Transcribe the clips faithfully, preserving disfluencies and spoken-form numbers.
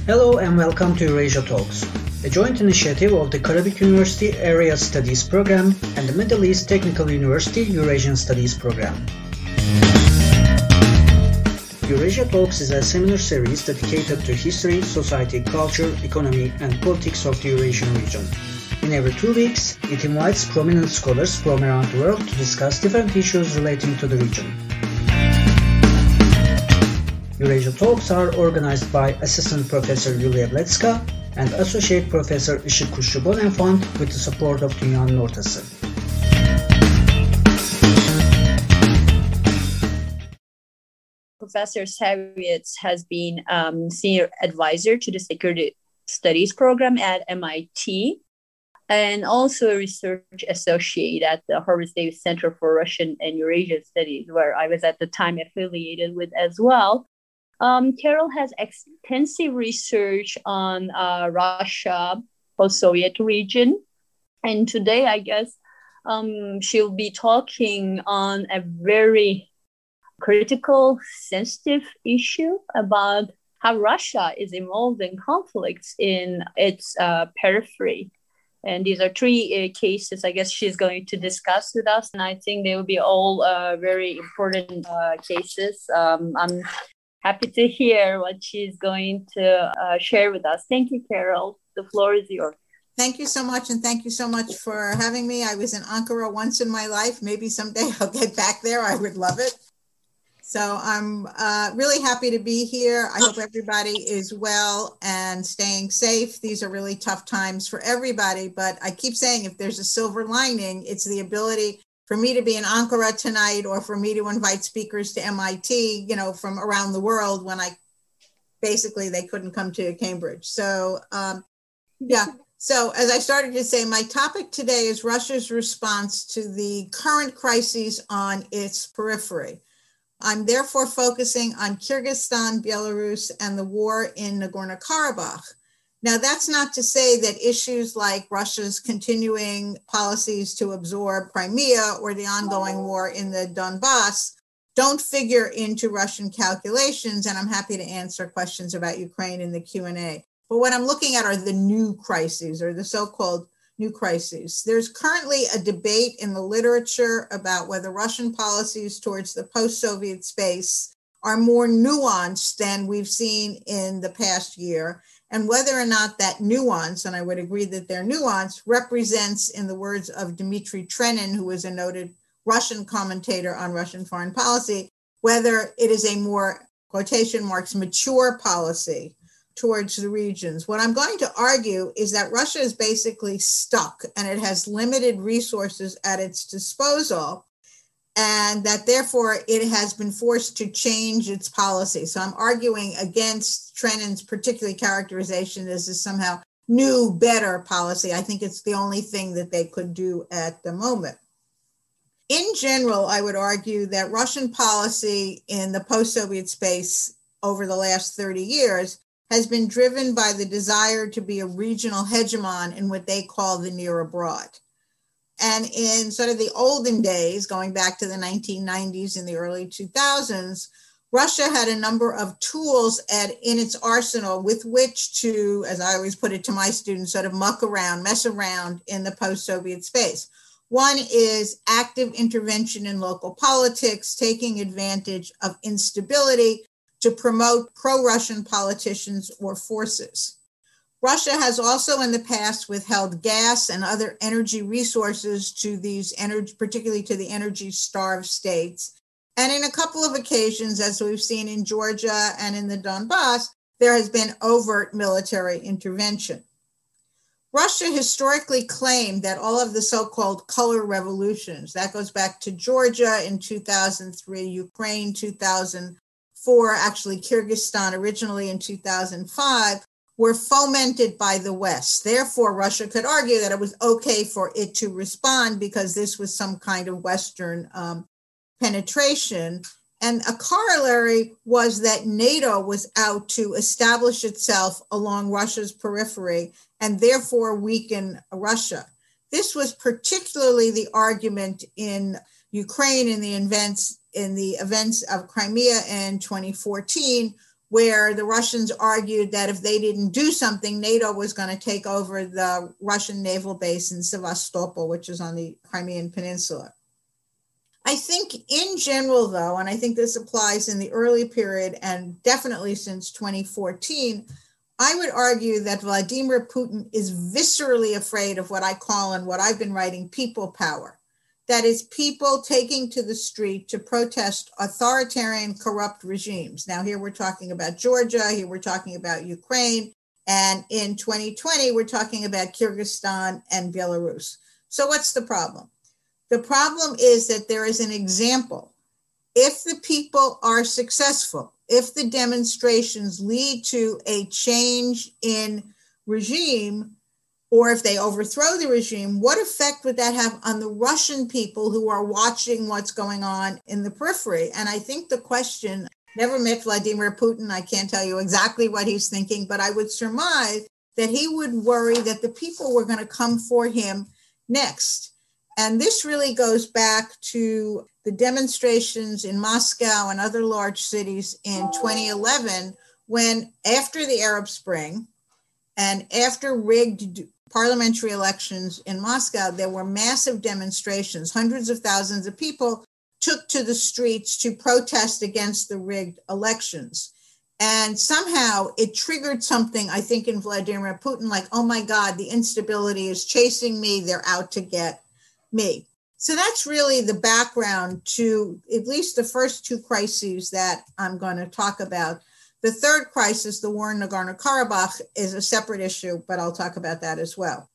Hello and welcome to Eurasia Talks, a joint initiative of the Karabük University Area Studies Program and the Middle East Technical University Eurasian Studies Program. Eurasia Talks is a seminar series dedicated to history, society, culture, economy, and politics of the Eurasian region. In every two weeks, it invites prominent scholars from around the world to discuss different issues relating to the region. Eurasia Talks are organized by Assistant Professor Yulia Bletska and Associate Professor Işık Kuşçu Bonenfant with the support of Dünyanın Ortası. Professor Savitz has been um, senior advisor to the Security Studies program at M I T and also a research associate at the Harvard Davis Center for Russian and Eurasian Studies, where I was at the time affiliated with as well. Um, Carol has extensive research on uh, Russia, post-Soviet region, and today I guess um, she'll be talking on a very critical, sensitive issue about how Russia is involved in conflicts in its uh, periphery. And these are three uh, cases I guess she's going to discuss with us, and I think they will be all uh, very important uh, cases. Um, I'm happy to hear what she's going to uh, share with us. Thank you, Carol. The floor is yours. Thank you so much, and thank you so much for having me. I was in Ankara once in my life. Maybe someday I'll get back there. I would love it. So I'm uh, really happy to be here. I hope everybody is well and staying safe. These are really tough times for everybody, but I keep saying if there's a silver lining, it's the ability for me to be in Ankara tonight or for me to invite speakers to M I T, you know, from around the world when I basically they couldn't come to Cambridge. So um, yeah, so as I started to say, my topic today is Russia's response to the current crises on its periphery. I'm therefore focusing on Kyrgyzstan, Belarus, and the war in Nagorno-Karabakh. Now, that's not to say that issues like Russia's continuing policies to absorb Crimea or the ongoing war in the Donbass don't figure into Russian calculations, and I'm happy to answer questions about Ukraine in the Q and A. But what I'm looking at are the new crises, or the so-called new crises. There's currently a debate in the literature about whether Russian policies towards the post-Soviet space are more nuanced than we've seen in the past year, and whether or not that nuance, and I would agree that they're nuanced, represents, in the words of Dmitry Trenin, who is a noted Russian commentator on Russian foreign policy, whether it is a more, quotation marks, mature policy towards the regions. What I'm going to argue is that Russia is basically stuck and it has limited resources at its disposal, and that therefore it has been forced to change its policy. So I'm arguing against Trenin's particular characterization as a somehow new, better policy. I think it's the only thing that they could do at the moment. In general, I would argue that Russian policy in the post-Soviet space over the last thirty years has been driven by the desire to be a regional hegemon in what they call the near abroad. And in sort of the olden days, going back to the nineteen nineties and the early two thousands, Russia had a number of tools at, in its arsenal with which to, as I always put it to my students, sort of muck around, mess around in the post-Soviet space. One is active intervention in local politics, taking advantage of instability to promote pro-Russian politicians or forces. Russia has also in the past withheld gas and other energy resources to these energy, particularly to the energy-starved states. And in a couple of occasions, as we've seen in Georgia and in the Donbass, there has been overt military intervention. Russia historically claimed that all of the so-called color revolutions, that goes back to Georgia in two thousand three, Ukraine two thousand four, actually Kyrgyzstan originally in two thousand five, were fomented by the West. Therefore, Russia could argue that it was okay for it to respond because this was some kind of Western um, penetration. And a corollary was that NATO was out to establish itself along Russia's periphery and therefore weaken Russia. This was particularly the argument in Ukraine in the events in the events of Crimea in twenty fourteen, where the Russians argued that if they didn't do something, NATO was going to take over the Russian naval base in Sevastopol, which is on the Crimean Peninsula. I think in general, though, and I think this applies in the early period and definitely since twenty fourteen, I would argue that Vladimir Putin is viscerally afraid of what I call and what I've been writing people power. That is, people taking to the street to protest authoritarian, corrupt regimes. Now, here we're talking about Georgia, here we're talking about Ukraine, and in twenty twenty, we're talking about Kyrgyzstan and Belarus. So what's the problem? The problem is that there is an example. If the people are successful, if the demonstrations lead to a change in regime, or if they overthrow the regime, what effect would that have on the Russian people who are watching what's going on in the periphery? And I think the question, never met Vladimir Putin, I can't tell you exactly what he's thinking, but I would surmise that he would worry that the people were going to come for him next. And this really goes back to the demonstrations in Moscow and other large cities in twenty eleven, when after the Arab Spring and after rigged parliamentary elections in Moscow, there were massive demonstrations. Hundreds of thousands of people took to the streets to protest against the rigged elections. And somehow it triggered something, I think, in Vladimir Putin, like, oh my God, the instability is chasing me. They're out to get me. So that's really the background to at least the first two crises that I'm going to talk about. The third crisis, the war in Nagorno-Karabakh, is a separate issue, but I'll talk about that as well.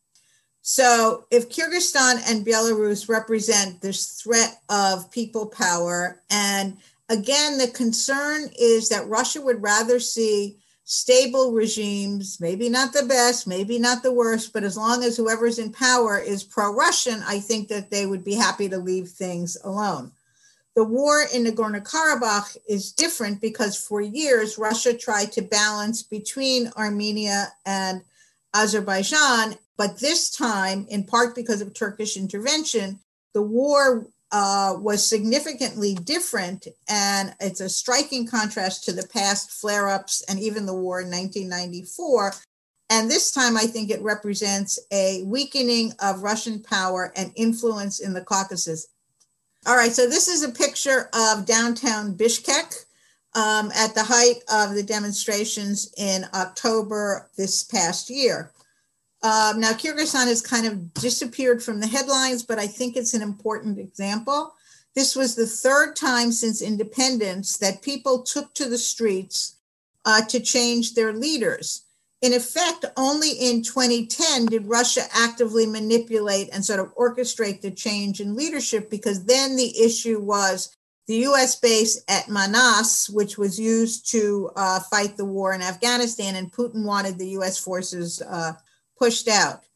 So if Kyrgyzstan and Belarus represent this threat of people power, and again, the concern is that Russia would rather see stable regimes, maybe not the best, maybe not the worst, but as long as whoever's in power is pro-Russian, I think that they would be happy to leave things alone. The war in Nagorno-Karabakh is different because for years, Russia tried to balance between Armenia and Azerbaijan, but this time, in part because of Turkish intervention, the war uh, was significantly different, and it's a striking contrast to the past flare-ups and even the war in nineteen ninety-four. And this time, I think it represents a weakening of Russian power and influence in the Caucasus. All right, so this is a picture of downtown Bishkek um, at the height of the demonstrations in October this past year. Um, now, Kyrgyzstan has kind of disappeared from the headlines, but I think it's an important example. This was the third time since independence that people took to the streets uh, to change their leaders. In effect, only in twenty ten did Russia actively manipulate and sort of orchestrate the change in leadership, because then the issue was the U S base at Manas, which was used to uh, fight the war in Afghanistan, and Putin wanted the U S forces uh, pushed out.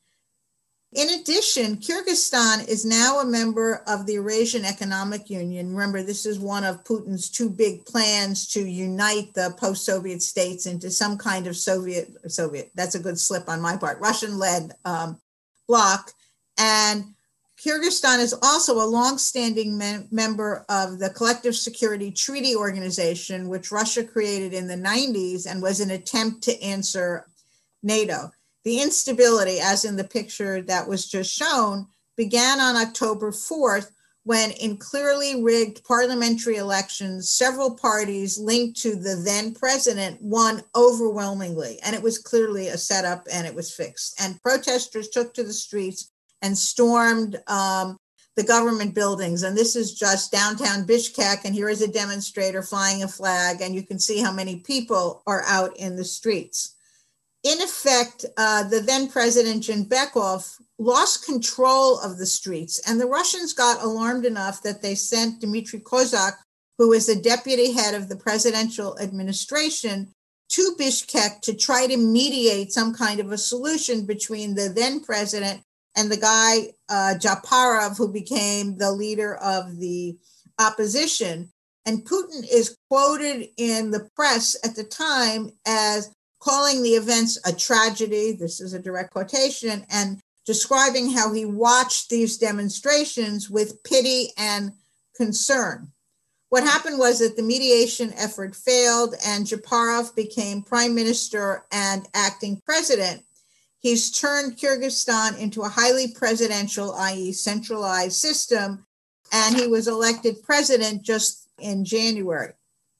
In addition, Kyrgyzstan is now a member of the Eurasian Economic Union. Remember, this is one of Putin's two big plans to unite the post-Soviet states into some kind of Soviet, Soviet, that's a good slip on my part, Russian-led um, bloc. And Kyrgyzstan is also a longstanding mem- member of the Collective Security Treaty Organization, which Russia created in the nineties and was an attempt to answer NATO. The instability, as in the picture that was just shown, began on October fourth, when in clearly rigged parliamentary elections, several parties linked to the then president won overwhelmingly. And it was clearly a setup, and it was fixed. And protesters took to the streets and stormed um, the government buildings. And this is just downtown Bishkek. And here is a demonstrator flying a flag. And you can see how many people are out in the streets. In effect, uh, the then president, Janbekov, lost control of the streets, and the Russians got alarmed enough that they sent Dmitry Kozak, who is the deputy head of the presidential administration, to Bishkek to try to mediate some kind of a solution between the then president and the guy, uh, Japarov, who became the leader of the opposition. And Putin is quoted in the press at the time as calling the events a tragedy, this is a direct quotation, and describing how he watched these demonstrations with pity and concern. what happened was that the mediation effort failed and Japarov became prime minister and acting president. He's turned Kyrgyzstan into a highly presidential, that is centralized system, and he was elected president just in January.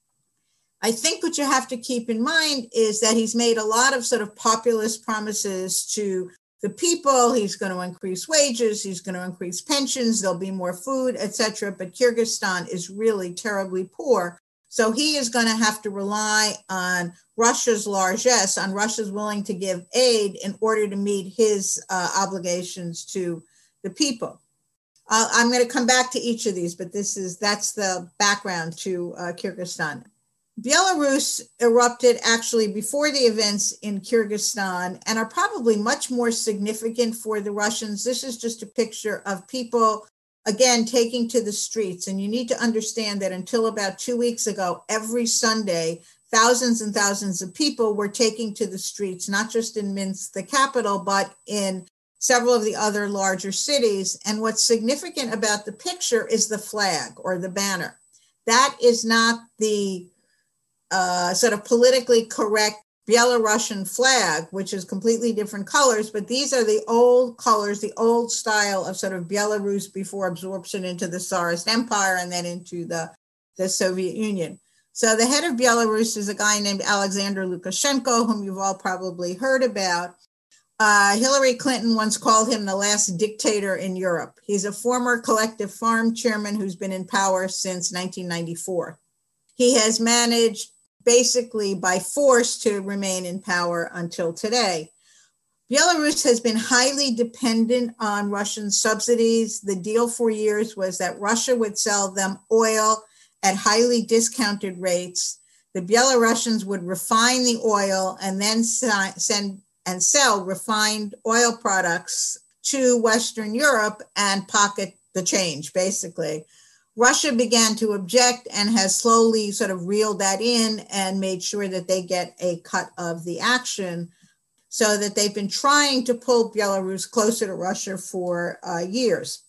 I think what you have to keep in mind is that he's made a lot of sort of populist promises to the people. He's going to increase wages, he's going to increase pensions, there'll be more food, et cetera. But Kyrgyzstan is really terribly poor. So he is going to have to rely on Russia's largesse, on Russia's willing to give aid in order to meet his uh, obligations to the people. Uh, I'm going to come back to each of these, but this is that's the background to uh, Kyrgyzstan. Belarus erupted actually before the events in Kyrgyzstan and are probably much more significant for the Russians. This is just a picture of people, again, taking to the streets. And you need to understand that until about two weeks ago, every Sunday, thousands and thousands of people were taking to the streets, not just in Minsk, the capital, but in several of the other larger cities. And what's significant about the picture is the flag or the banner. That is not the uh, sort of politically correct Belarusian flag, which is completely different colors, but these are the old colors, the old style of sort of Belarus before absorption into the Tsarist Empire and then into the, the Soviet Union. So the head of Belarus is a guy named Alexander Lukashenko, whom you've all probably heard about. Uh, Hillary Clinton once called him the last dictator in Europe. He's a former collective farm chairman who's been in power since nineteen ninety-four. He has managed basically by force to remain in power until today. Belarus has been highly dependent on Russian subsidies. The deal for years was that Russia would sell them oil at highly discounted rates. The Belarusians would refine the oil and then send and sell refined oil products to Western Europe and pocket the change, basically. Russia began to object and has slowly sort of reeled that in and made sure that they get a cut of the action, so that they've been trying to pull Belarus closer to Russia for uh, years.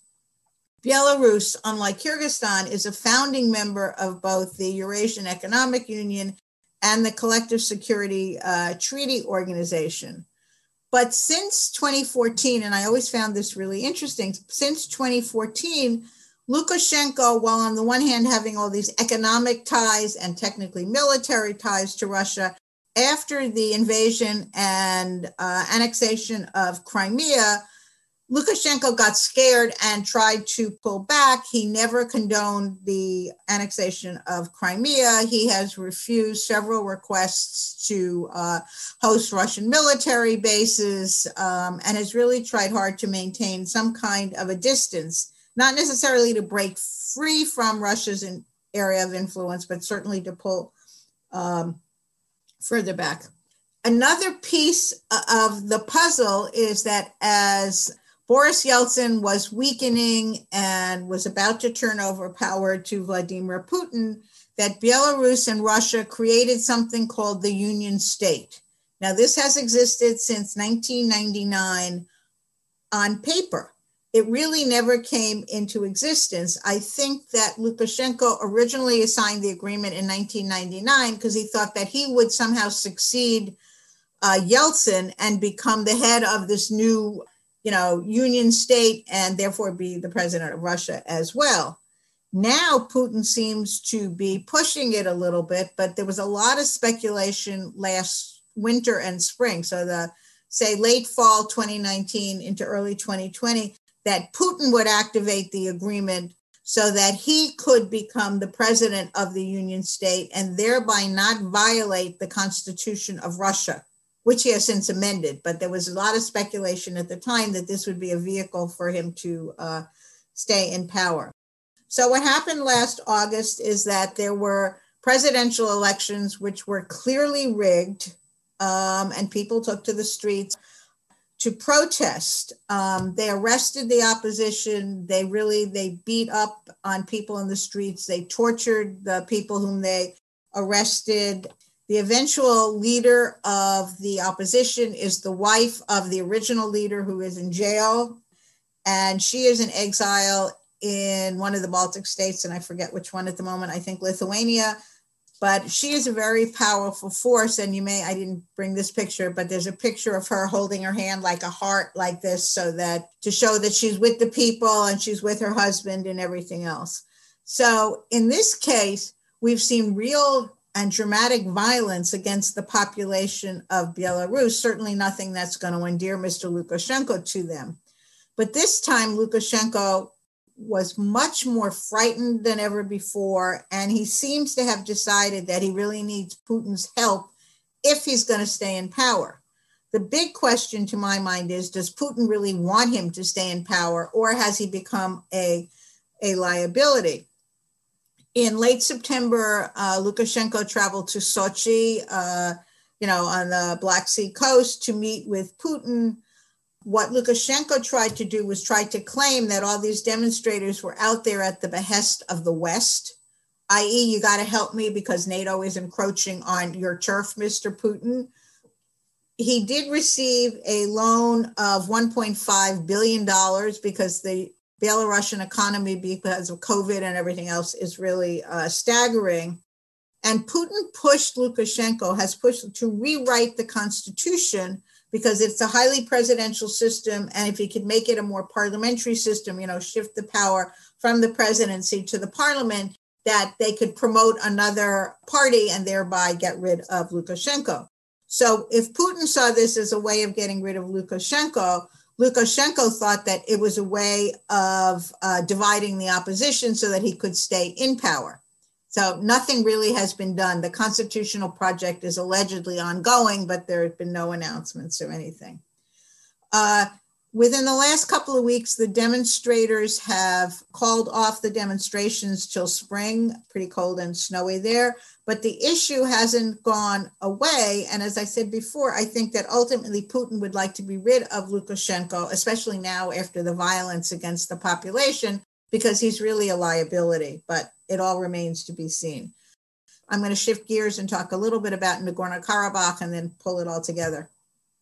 Belarus, unlike Kyrgyzstan, is a founding member of both the Eurasian Economic Union and the Collective Security uh, Treaty Organization. But since twenty fourteen, and I always found this really interesting, since twenty fourteen, Lukashenko, while on the one hand having all these economic ties and technically military ties to Russia, after the invasion and uh, annexation of Crimea, Lukashenko got scared and tried to pull back. He never condoned the annexation of Crimea. He has refused several requests to uh, host Russian military bases um, and has really tried hard to maintain some kind of a distance, not necessarily to break free from Russia's in, area of influence, but certainly to pull um, further back. Another piece of the puzzle is that as Boris Yeltsin was weakening and was about to turn over power to Vladimir Putin, that Belarus and Russia created something called the Union State. Now, this has existed since nineteen ninety-nine on paper. It really never came into existence. I think that Lukashenko originally signed the agreement in nineteen ninety-nine because he thought that he would somehow succeed uh, Yeltsin and become the head of this new you know, Union State and therefore be the president of Russia as well. Now Putin seems to be pushing it a little bit, but there was a lot of speculation last winter and spring. So the, say, late fall twenty nineteen into early twenty twenty, that Putin would activate the agreement so that he could become the president of the Union State and thereby not violate the Constitution of Russia, which he has since amended, but there was a lot of speculation at the time that this would be a vehicle for him to uh, stay in power. So what happened last August is that there were presidential elections which were clearly rigged, um, and people took to the streets to protest. Um, they arrested the opposition. They really, they beat up on people in the streets. They tortured the people whom they arrested. The eventual leader of the opposition is the wife of the original leader who is in jail, and she is in exile in one of the Baltic states, and I forget which one at the moment, I think Lithuania. But she is a very powerful force. And you may, I didn't bring this picture, but there's a picture of her holding her hand like a heart like this, so that to show that she's with the people and she's with her husband and everything else. So in this case, we've seen real and dramatic violence against the population of Belarus, certainly nothing that's going to endear Mister Lukashenko to them. But this time, Lukashenko was much more frightened than ever before, and he seems to have decided that he really needs Putin's help if he's going to stay in power. The big question to my mind is, does Putin really want him to stay in power, or has he become a, a liability? In late September, uh, Lukashenko traveled to Sochi, uh, you know, on the Black Sea coast to meet with Putin. What Lukashenko tried to do was try to claim that all these demonstrators were out there at the behest of the West, that is, you got to help me because NATO is encroaching on your turf, Mister Putin. He did receive a loan of one point five billion dollars because the Belarusian economy, because of COVID and everything else, is really uh, staggering. And Putin pushed Lukashenko, has pushed to rewrite the constitution because it's a highly presidential system. And if he could make it a more parliamentary system, you know, shift the power from the presidency to the parliament, that they could promote another party and thereby get rid of Lukashenko. So if Putin saw this as a way of getting rid of Lukashenko, Lukashenko thought that it was a way of uh, dividing the opposition so that he could stay in power. So nothing really has been done. The constitutional project is allegedly ongoing, but there have been no announcements or anything. Uh, within the last couple of weeks, the demonstrators have called off the demonstrations till spring, pretty cold and snowy there, but the issue hasn't gone away. And as I said before, I think that ultimately Putin would like to be rid of Lukashenko, especially now after the violence against the population, because he's really a liability, but it all remains to be seen. I'm going to shift gears and talk a little bit about Nagorno-Karabakh and then pull it all together.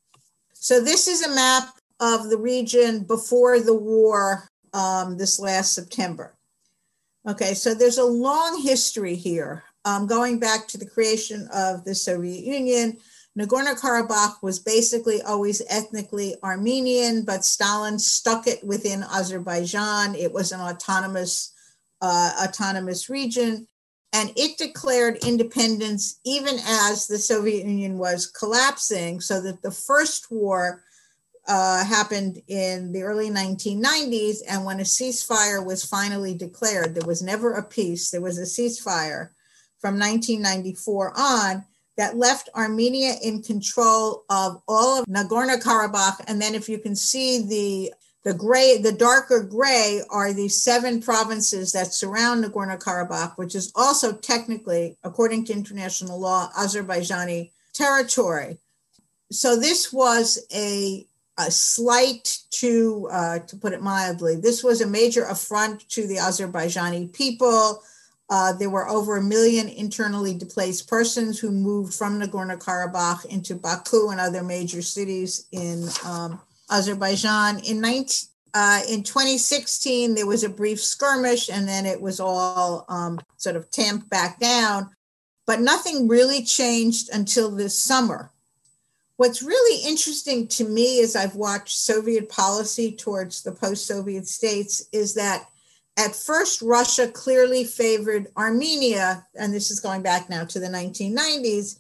So this is a map of the region before the war um, this last September. Okay, so there's a long history here. Um, going back to the creation of the Soviet Union, Nagorno-Karabakh was basically always ethnically Armenian, but Stalin stuck it within Azerbaijan. It was an autonomous, uh, autonomous region, and it declared independence even as the Soviet Union was collapsing, so that the first war uh, happened in the early nineteen nineties, and when a ceasefire was finally declared, there was never a peace, there was a ceasefire from nineteen ninety-four on, that left Armenia in control of all of Nagorno-Karabakh. And then if you can see the, the gray, the darker gray are the seven provinces that surround Nagorno-Karabakh, which is also technically, according to international law, Azerbaijani territory. So this was a, a slight to, uh, to put it mildly, this was a major affront to the Azerbaijani people. Uh, there were over a million internally displaced persons who moved from Nagorno-Karabakh into Baku and other major cities in um, Azerbaijan. In, nineteen, uh, in twenty sixteen, there was a brief skirmish, and then it was all um, sort of tamped back down. But nothing really changed until this summer. What's really interesting to me as I've watched Soviet policy towards the post-Soviet states is that at first, Russia clearly favored Armenia, and this is going back now to the nineteen nineties.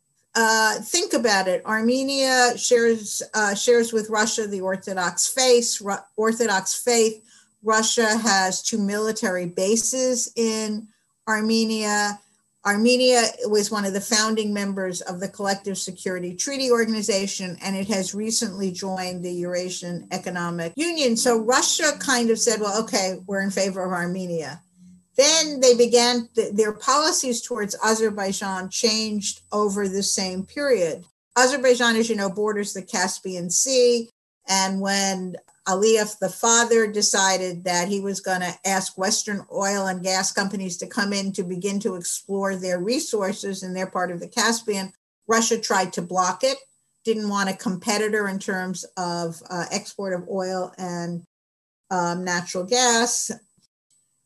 Uh, think about it. Armenia shares uh, shares with Russia the Orthodox faith. Ru- Orthodox faith. Russia has two military bases in Armenia. Armenia was one of the founding members of the Collective Security Treaty Organization, and it has recently joined the Eurasian Economic Union. So Russia kind of said, well, okay, we're in favor of Armenia. Then they began, th- their policies towards Azerbaijan changed over the same period. Azerbaijan, as you know, borders the Caspian Sea. And when Aliyev, the father, decided that he was going to ask Western oil and gas companies to come in to begin to explore their resources in their part of the Caspian, Russia tried to block it, didn't want a competitor in terms of uh, export of oil and um, natural gas.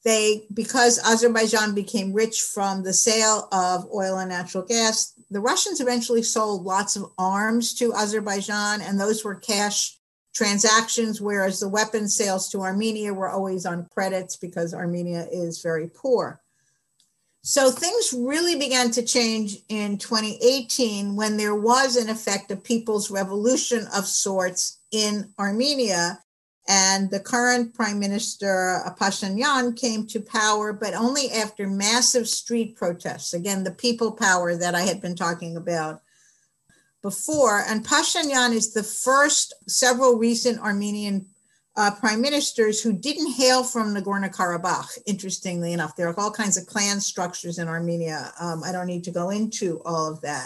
They, because Azerbaijan became rich from the sale of oil and natural gas, the Russians eventually sold lots of arms to Azerbaijan, and those were cash transactions, whereas the weapons sales to Armenia were always on credits because Armenia is very poor. So things really began to change in twenty eighteen when there was, in effect, a people's revolution of sorts in Armenia. And the current Prime Minister, Pashinyan, came to power, but only after massive street protests. Again, the people power that I had been talking about before. And Pashinyan is the first several recent Armenian uh, prime ministers who didn't hail from Nagorno-Karabakh, interestingly enough. There are all kinds of clan structures in Armenia. Um, I don't need to go into all of that.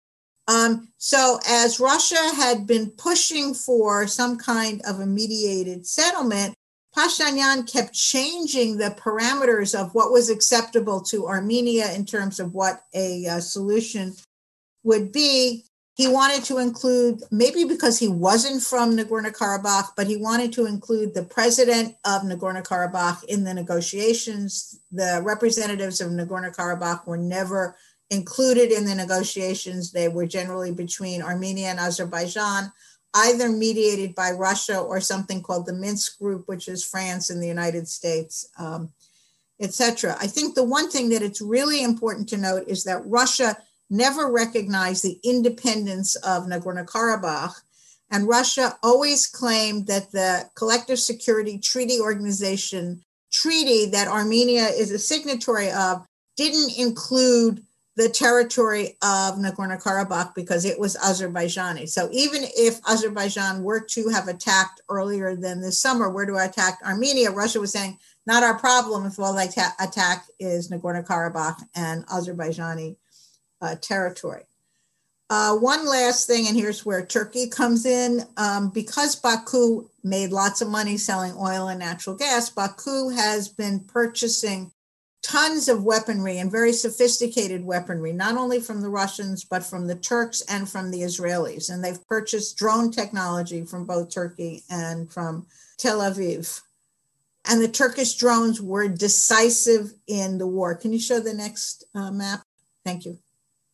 Um, so as Russia had been pushing for some kind of a mediated settlement, Pashinyan kept changing the parameters of what was acceptable to Armenia in terms of what a uh, solution would be. He wanted to include, maybe because he wasn't from Nagorno-Karabakh, but he wanted to include the president of Nagorno-Karabakh in the negotiations. The representatives of Nagorno-Karabakh were never included in the negotiations. They were generally between Armenia and Azerbaijan, either mediated by Russia or something called the Minsk Group, which is France and the United States, um, et cetera. I think the one thing that it's really important to note is that Russia never recognized the independence of Nagorno-Karabakh, and Russia always claimed that the Collective Security Treaty Organization treaty that Armenia is a signatory of didn't include the territory of Nagorno-Karabakh because it was Azerbaijani. So even if Azerbaijan were to have attacked earlier than this summer, were to attack Armenia, Russia was saying, not our problem if all they ta- attack is Nagorno-Karabakh and Azerbaijani uh, territory. Uh, one last thing, and here's where Turkey comes in. Um, because Baku made lots of money selling oil and natural gas, Baku has been purchasing tons of weaponry and very sophisticated weaponry, not only from the Russians, but from the Turks and from the Israelis. And they've purchased drone technology from both Turkey and from Tel Aviv. And the Turkish drones were decisive in the war. Can you show the next uh, map? Thank you.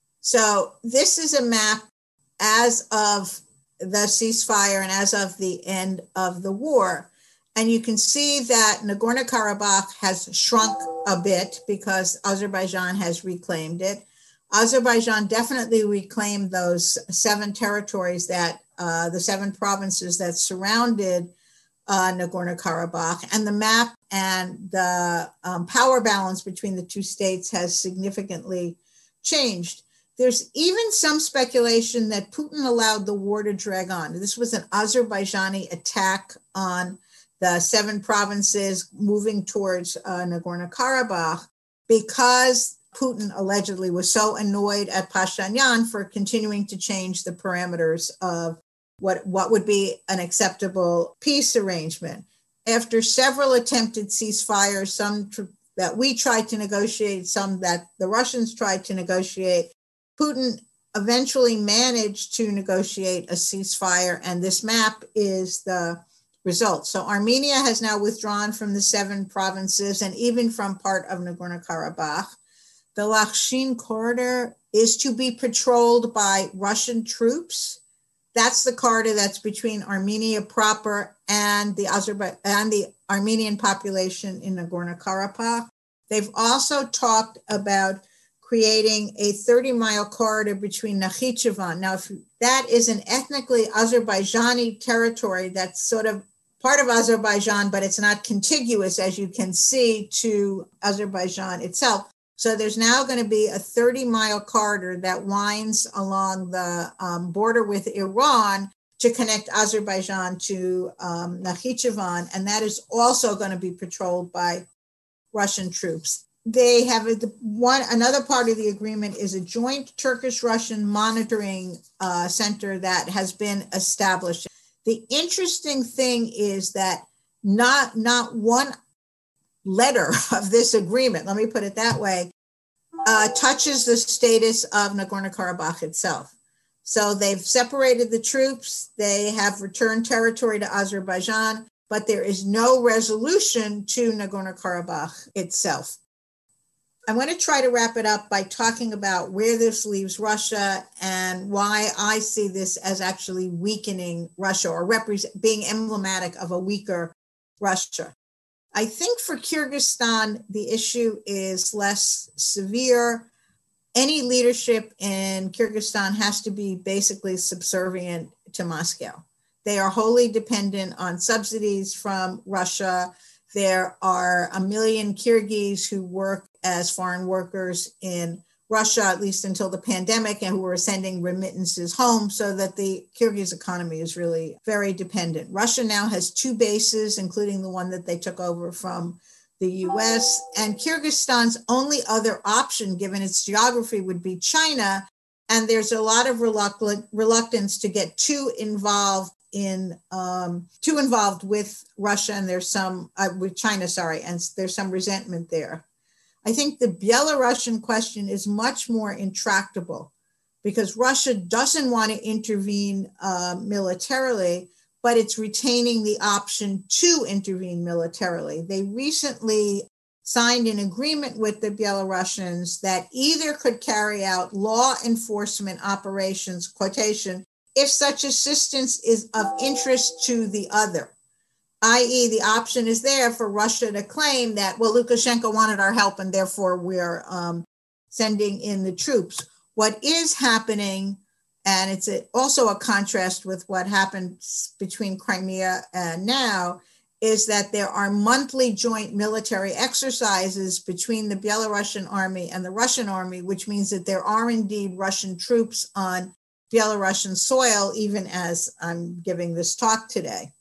So this is a map as of the ceasefire and as of the end of the war. And you can see that Nagorno-Karabakh has shrunk a bit because Azerbaijan has reclaimed it. Azerbaijan definitely reclaimed those seven territories that, uh, the seven provinces that surrounded uh, Nagorno-Karabakh. And the map and the um, power balance between the two states has significantly changed. There's even some speculation that Putin allowed the war to drag on. This was an Azerbaijani attack on the seven provinces moving towards uh, Nagorno-Karabakh because Putin allegedly was so annoyed at Pashinyan for continuing to change the parameters of what, what would be an acceptable peace arrangement. After several attempted ceasefires, some tr- that we tried to negotiate, some that the Russians tried to negotiate, Putin eventually managed to negotiate a ceasefire, and this map is the result. So Armenia has now withdrawn from the seven provinces and even from part of Nagorno-Karabakh. The Lakhshin corridor is to be patrolled by Russian troops. That's the corridor that's between Armenia proper and the Azerbaijan and the Armenian population in Nagorno-Karabakh. They've also talked about creating a thirty mile corridor between Nakhichevan. Now, if that is an ethnically Azerbaijani territory that's sort of part of Azerbaijan, but it's not contiguous, as you can see, to Azerbaijan itself. So there's now going to be a thirty mile corridor that winds along the um, border with Iran to connect Azerbaijan to um, Nakhichevan, and that is also going to be patrolled by Russian troops. They have a, one another part of the agreement is a joint Turkish-Russian monitoring uh, center that has been established. The interesting thing is that not, not one letter of this agreement, let me put it that way, uh, touches the status of Nagorno-Karabakh itself. So they've separated the troops. They have returned territory to Azerbaijan, but there is no resolution to Nagorno-Karabakh itself. I want to try to wrap it up by talking about where this leaves Russia and why I see this as actually weakening Russia or represent, being emblematic of a weaker Russia. I think for Kyrgyzstan, the issue is less severe. Any leadership in Kyrgyzstan has to be basically subservient to Moscow. They are wholly dependent on subsidies from Russia. There are a million Kyrgyz who work as foreign workers in Russia, at least until the pandemic, and who are sending remittances home, so that the Kyrgyz economy is really very dependent. Russia now has two bases, including the one that they took over from the U S, and Kyrgyzstan's only other option, given its geography, would be China. And there's a lot of reluctant, reluctance to get too involved in um, too involved with Russia, and there's some uh, with China, sorry, and there's some resentment there. I think the Belarusian question is much more intractable because Russia doesn't want to intervene uh, militarily, but it's retaining the option to intervene militarily. They recently signed an agreement with the Belarusians that either could carry out law enforcement operations, quotation, if such assistance is of interest to the other, that is the option is there for Russia to claim that, well, Lukashenko wanted our help and therefore we're um, sending in the troops. What is happening, and it's a, also a contrast with what happened between Crimea and now, is that there are monthly joint military exercises between the Belarusian army and the Russian army, which means that there are indeed Russian troops on Belarusian soil, even as I'm giving this talk today.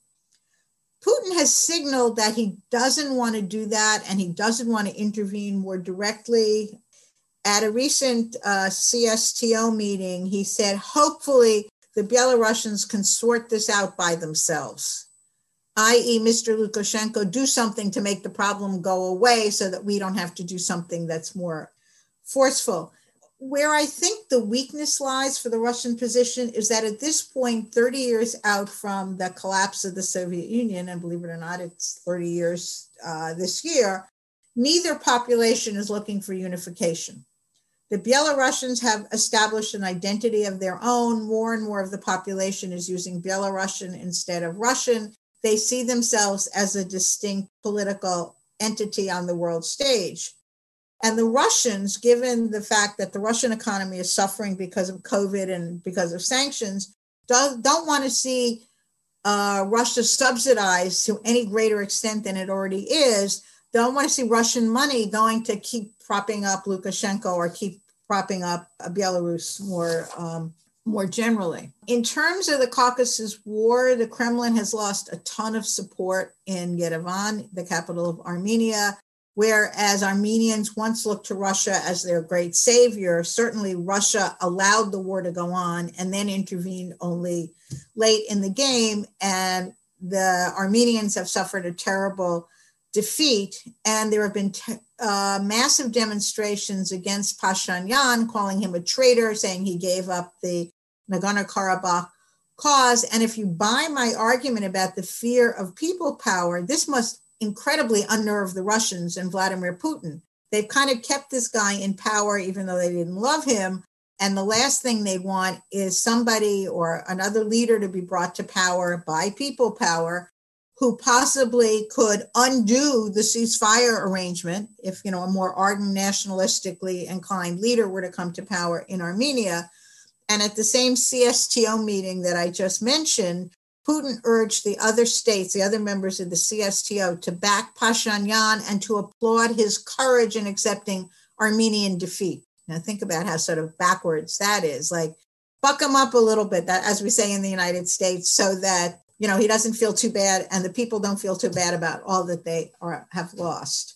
Putin has signaled that he doesn't want to do that and he doesn't want to intervene more directly. At a recent uh, C S T O meeting, he said, hopefully the Belarusians can sort this out by themselves, that is, Mister Lukashenko, do something to make the problem go away so that we don't have to do something that's more forceful. Where I think the weakness lies for the Russian position is that at this point, thirty years out from the collapse of the Soviet Union, and believe it or not, it's thirty years uh, this year, neither population is looking for unification. The Belarusians have established an identity of their own. More and more of the population is using Belarusian instead of Russian. They see themselves as a distinct political entity on the world stage. And the Russians, given the fact that the Russian economy is suffering because of COVID and because of sanctions, don't, don't want to see uh, Russia subsidized to any greater extent than it already is. Don't want to see Russian money going to keep propping up Lukashenko or keep propping up Belarus more, um, more generally. In terms of the Caucasus War, the Kremlin has lost a ton of support in Yerevan, the capital of Armenia. Whereas Armenians once looked to Russia as their great savior, certainly Russia allowed the war to go on and then intervened only late in the game. And the Armenians have suffered a terrible defeat. And there have been te- uh, massive demonstrations against Pashinyan, calling him a traitor, saying he gave up the Nagorno-Karabakh cause. And if you buy my argument about the fear of people power, this must incredibly unnerve the Russians and Vladimir Putin. They've kind of kept this guy in power, even though they didn't love him. And the last thing they want is somebody or another leader to be brought to power by people power who possibly could undo the ceasefire arrangement if, you know, a more ardent, nationalistically inclined leader were to come to power in Armenia. And at the same C S T O meeting that I just mentioned, Putin urged the other states, the other members of the C S T O, to back Pashinyan and to applaud his courage in accepting Armenian defeat. Now think about how sort of backwards that is. Like, buck him up a little bit, that, as we say in the United States, so that, you know, he doesn't feel too bad and the people don't feel too bad about all that they are, have lost.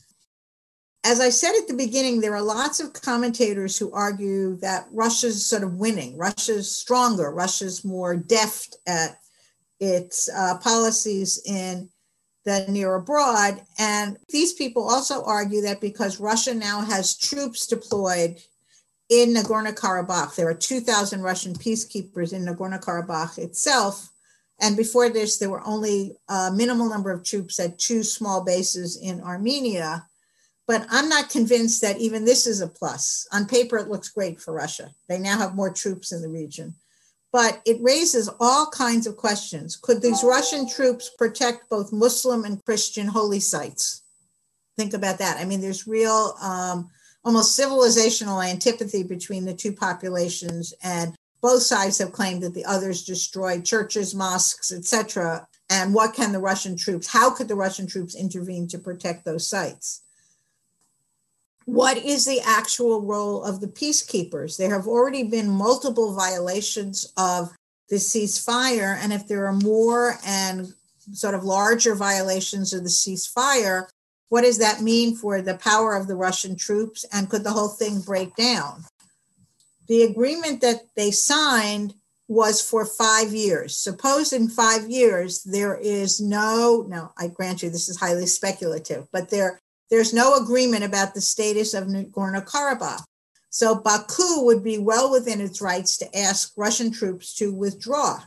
As I said at the beginning, there are lots of commentators who argue that Russia's sort of winning. Russia's stronger. Russia's more deft at its uh, policies in the near abroad. And these people also argue that because Russia now has troops deployed in Nagorno-Karabakh, there are two thousand Russian peacekeepers in Nagorno-Karabakh itself, And before this, there were only a minimal number of troops at two small bases in Armenia. But I'm not convinced that even this is a plus. On paper, it looks great for Russia. They now have more troops in the region. But it raises all kinds of questions. Could these Russian troops protect both Muslim and Christian holy sites? Think about that. I mean, there's real, um, almost civilizational antipathy between the two populations, and both sides have claimed that the others destroyed churches, mosques, et cetera. And what can the Russian troops, how could the Russian troops intervene to protect those sites? What is the actual role of the peacekeepers? There have already been multiple violations of the ceasefire. And if there are more and sort of larger violations of the ceasefire, what does that mean for the power of the Russian troops? And could the whole thing break down? The agreement that they signed was for five years. Suppose in five years, there is no, now I grant you this is highly speculative, but there There's no agreement about the status of Nagorno-Karabakh. So Baku would be well within its rights to ask Russian troops to withdraw.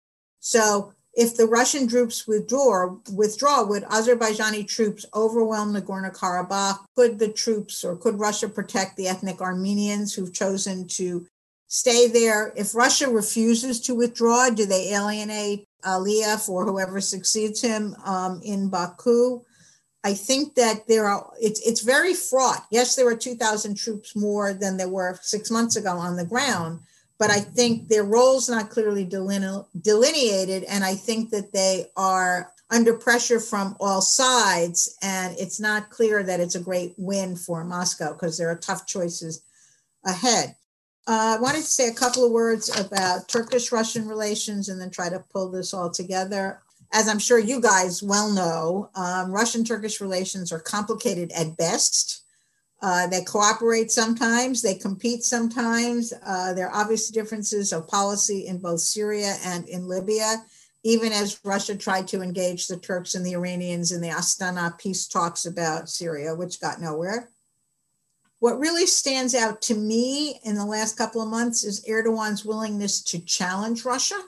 So if the Russian troops withdraw, withdraw, would Azerbaijani troops overwhelm Nagorno-Karabakh? Could the troops, or could Russia protect the ethnic Armenians who've chosen to stay there? If Russia refuses to withdraw, do they alienate Aliyev or whoever succeeds him um, in Baku? I think that there are, it's, it's very fraught. Yes, there are two thousand troops more than there were six months ago on the ground, but I think their roles not clearly deline- delineated. And I think that they are under pressure from all sides. And it's not clear that it's a great win for Moscow because there are tough choices ahead. Uh, I wanted to say a couple of words about Turkish-Russian relations and then try to pull this all together. As I'm sure you guys well know, um, Russian-Turkish relations are complicated at best. Uh, they cooperate sometimes, they compete sometimes. Uh, there are obvious differences of policy in both Syria and in Libya, even as Russia tried to engage the Turks and the Iranians in the Astana peace talks about Syria, which got nowhere. What really stands out to me in the last couple of months is Erdogan's willingness to challenge Russia.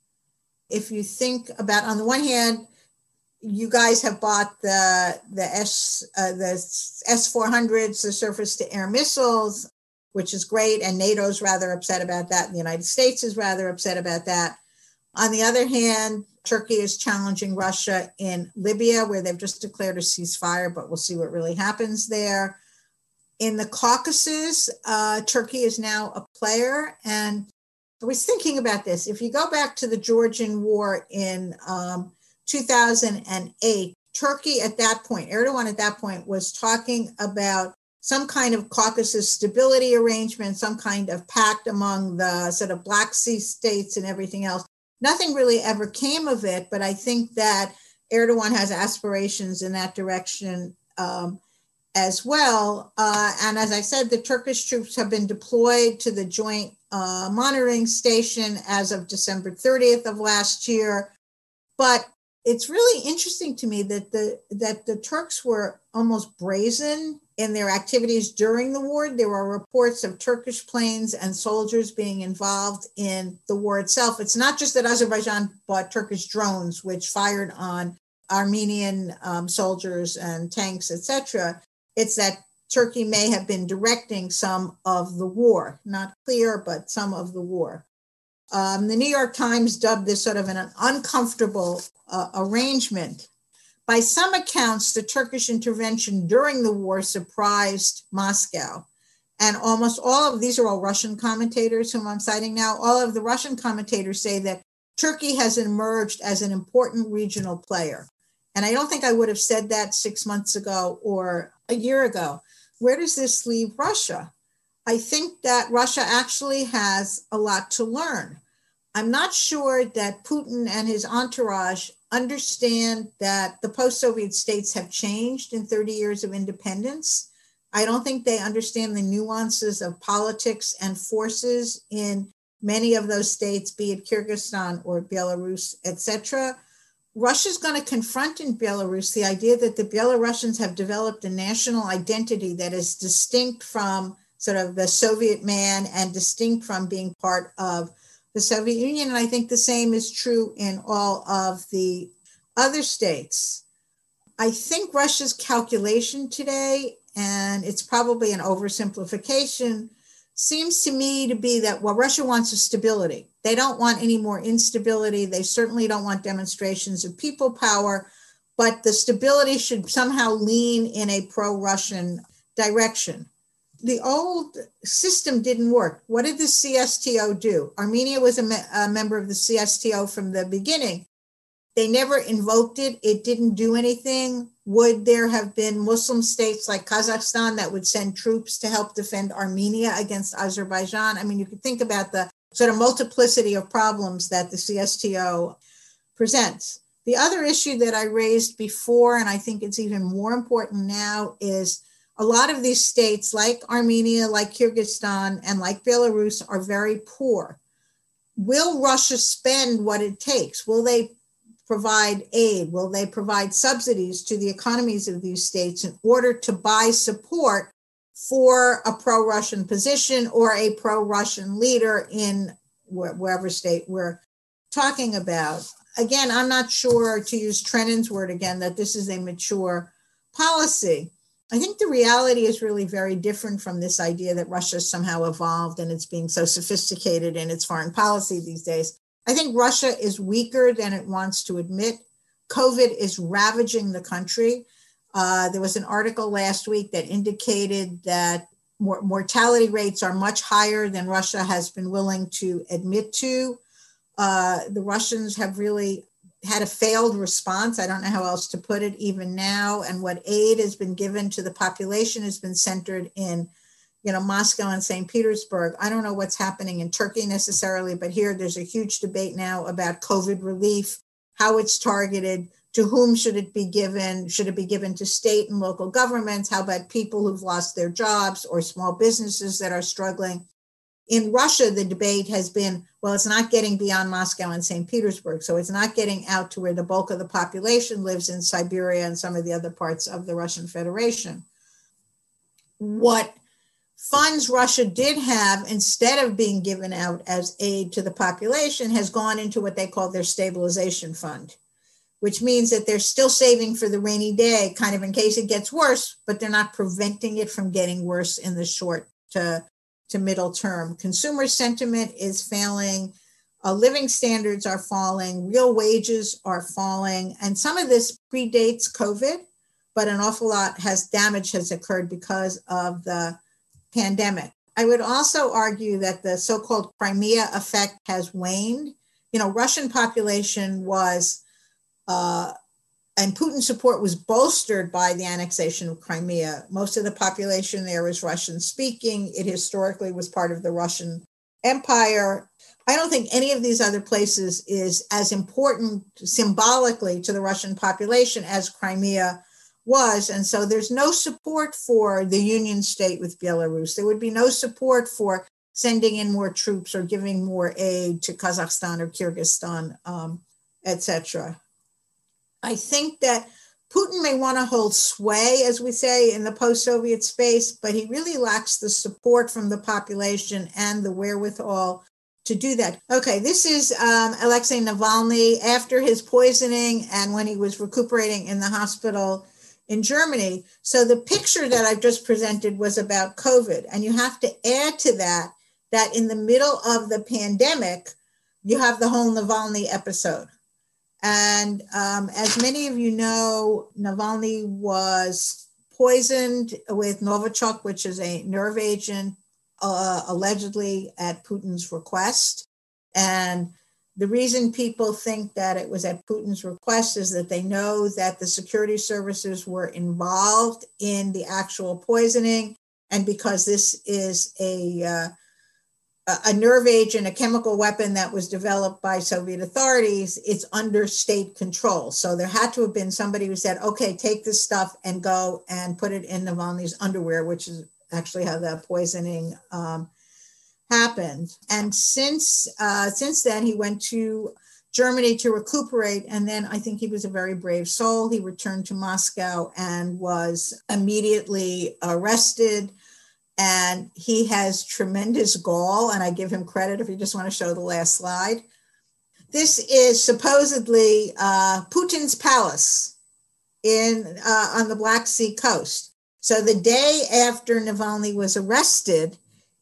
If you think about, on the one hand, you guys have bought the the S uh, the S four hundreds, the surface-to-air missiles, which is great, and NATO's rather upset about that, and the United States is rather upset about that. On the other hand, Turkey is challenging Russia in Libya, where they've just declared a ceasefire, but we'll see what really happens there. In the Caucasus, uh, Turkey is now a player, and I was thinking about this. If you go back to the Georgian war in um, two thousand eight, Turkey at that point, Erdogan at that point was talking about some kind of Caucasus stability arrangement, some kind of pact among the sort of Black Sea states and everything else. Nothing really ever came of it, but I think that Erdogan has aspirations in that direction um, as well. Uh, and as I said, the Turkish troops have been deployed to the joint uh, monitoring station as of December thirtieth of last year. But it's really interesting to me that the that the Turks were almost brazen in their activities during the war. There were reports of Turkish planes and soldiers being involved in the war itself. It's not just that Azerbaijan bought Turkish drones, which fired on Armenian um, soldiers and tanks, et cetera. It's that Turkey may have been directing some of the war. Not clear, but some of the war. Um, the New York Times dubbed this sort of an uncomfortable uh, arrangement. By some accounts, the Turkish intervention during the war surprised Moscow. And almost all of these are all Russian commentators whom I'm citing now. All of the Russian commentators say that Turkey has emerged as an important regional player. And I don't think I would have said that six months ago or a year ago. Where does this leave Russia? I think that Russia actually has a lot to learn. I'm not sure that Putin and his entourage understand that the post-Soviet states have changed in thirty years of independence. I don't think they understand the nuances of politics and forces in many of those states, be it Kyrgyzstan or Belarus, et cetera. Russia's going to confront in Belarus the idea that the Belarusians have developed a national identity that is distinct from sort of the Soviet man and distinct from being part of the Soviet Union. And I think the same is true in all of the other states. I think Russia's calculation today, and it's probably an oversimplification, seems to me to be that what Russia wants is stability. They don't want any more instability. They certainly don't want demonstrations of people power, but the stability should somehow lean in a pro-Russian direction. The old system didn't work. What did the C S T O do? Armenia was a, me- a member of the C S T O from the beginning. They never invoked it. It didn't do anything. Would there have been Muslim states like Kazakhstan that would send troops to help defend Armenia against Azerbaijan? I mean, you could think about the sort of multiplicity of problems that the C S T O presents. The other issue that I raised before, and I think it's even more important now, is a lot of these states like Armenia, like Kyrgyzstan, and like Belarus are very poor. Will Russia spend what it takes? Will they provide aid? Will they provide subsidies to the economies of these states in order to buy support for a pro-Russian position or a pro-Russian leader in wh- wherever state we're talking about? Again, I'm not sure, to use Trennan's word again, that this is a mature policy. I think the reality is really very different from this idea that Russia somehow evolved and it's being so sophisticated in its foreign policy these days. I think Russia is weaker than it wants to admit. COVID is ravaging the country. Uh, there was an article last week that indicated that mor- mortality rates are much higher than Russia has been willing to admit to. Uh, the Russians have really had a failed response. I don't know how else to put it even now. And what aid has been given to the population has been centered in, you know, Moscow and Saint Petersburg. I don't know what's happening in Turkey necessarily, but here there's a huge debate now about COVID relief, how it's targeted, to whom should it be given? Should it be given to state and local governments? How about people who've lost their jobs or small businesses that are struggling? In Russia, the debate has been, well, it's not getting beyond Moscow and Saint Petersburg, so it's not getting out to where the bulk of the population lives in Siberia and some of the other parts of the Russian Federation. What funds Russia did have, instead of being given out as aid to the population, has gone into what they call their stabilization fund, which means that they're still saving for the rainy day, kind of in case it gets worse, but they're not preventing it from getting worse in the short to, to middle term. Consumer sentiment is failing. Uh, living standards are falling. Real wages are falling. And some of this predates COVID, but an awful lot has damage has occurred because of the pandemic. I would also argue that the so-called Crimea effect has waned. You know, Russian population was, uh, and Putin support was bolstered by the annexation of Crimea. Most of the population there is Russian speaking. It historically was part of the Russian Empire. I don't think any of these other places is as important symbolically to the Russian population as Crimea was. And so there's no support for the union state with Belarus. There would be no support for sending in more troops or giving more aid to Kazakhstan or Kyrgyzstan, um, et cetera. I think that Putin may want to hold sway, as we say, in the post-Soviet space, but he really lacks the support from the population and the wherewithal to do that. Okay, this is um, Alexei Navalny after his poisoning and when he was recuperating in the hospital in Germany. So the picture that I've just presented was about COVID. And you have to add to that, that in the middle of the pandemic, you have the whole Navalny episode. And um, as many of you know, Navalny was poisoned with Novichok, which is a nerve agent, uh, allegedly at Putin's request. And the reason people think that it was at Putin's request is that they know that the security services were involved in the actual poisoning. And because this is a uh, a nerve agent, a chemical weapon that was developed by Soviet authorities, it's under state control. So there had to have been somebody who said, okay, take this stuff and go and put it in Navalny's underwear, which is actually how the poisoning um, happened. And since, uh, since then, he went to Germany to recuperate. And then I think he was a very brave soul. He returned to Moscow and was immediately arrested And he has tremendous gall, and I give him credit if you just want to show the last slide. This is supposedly uh, Putin's palace in uh, on the Black Sea coast. So the day after Navalny was arrested,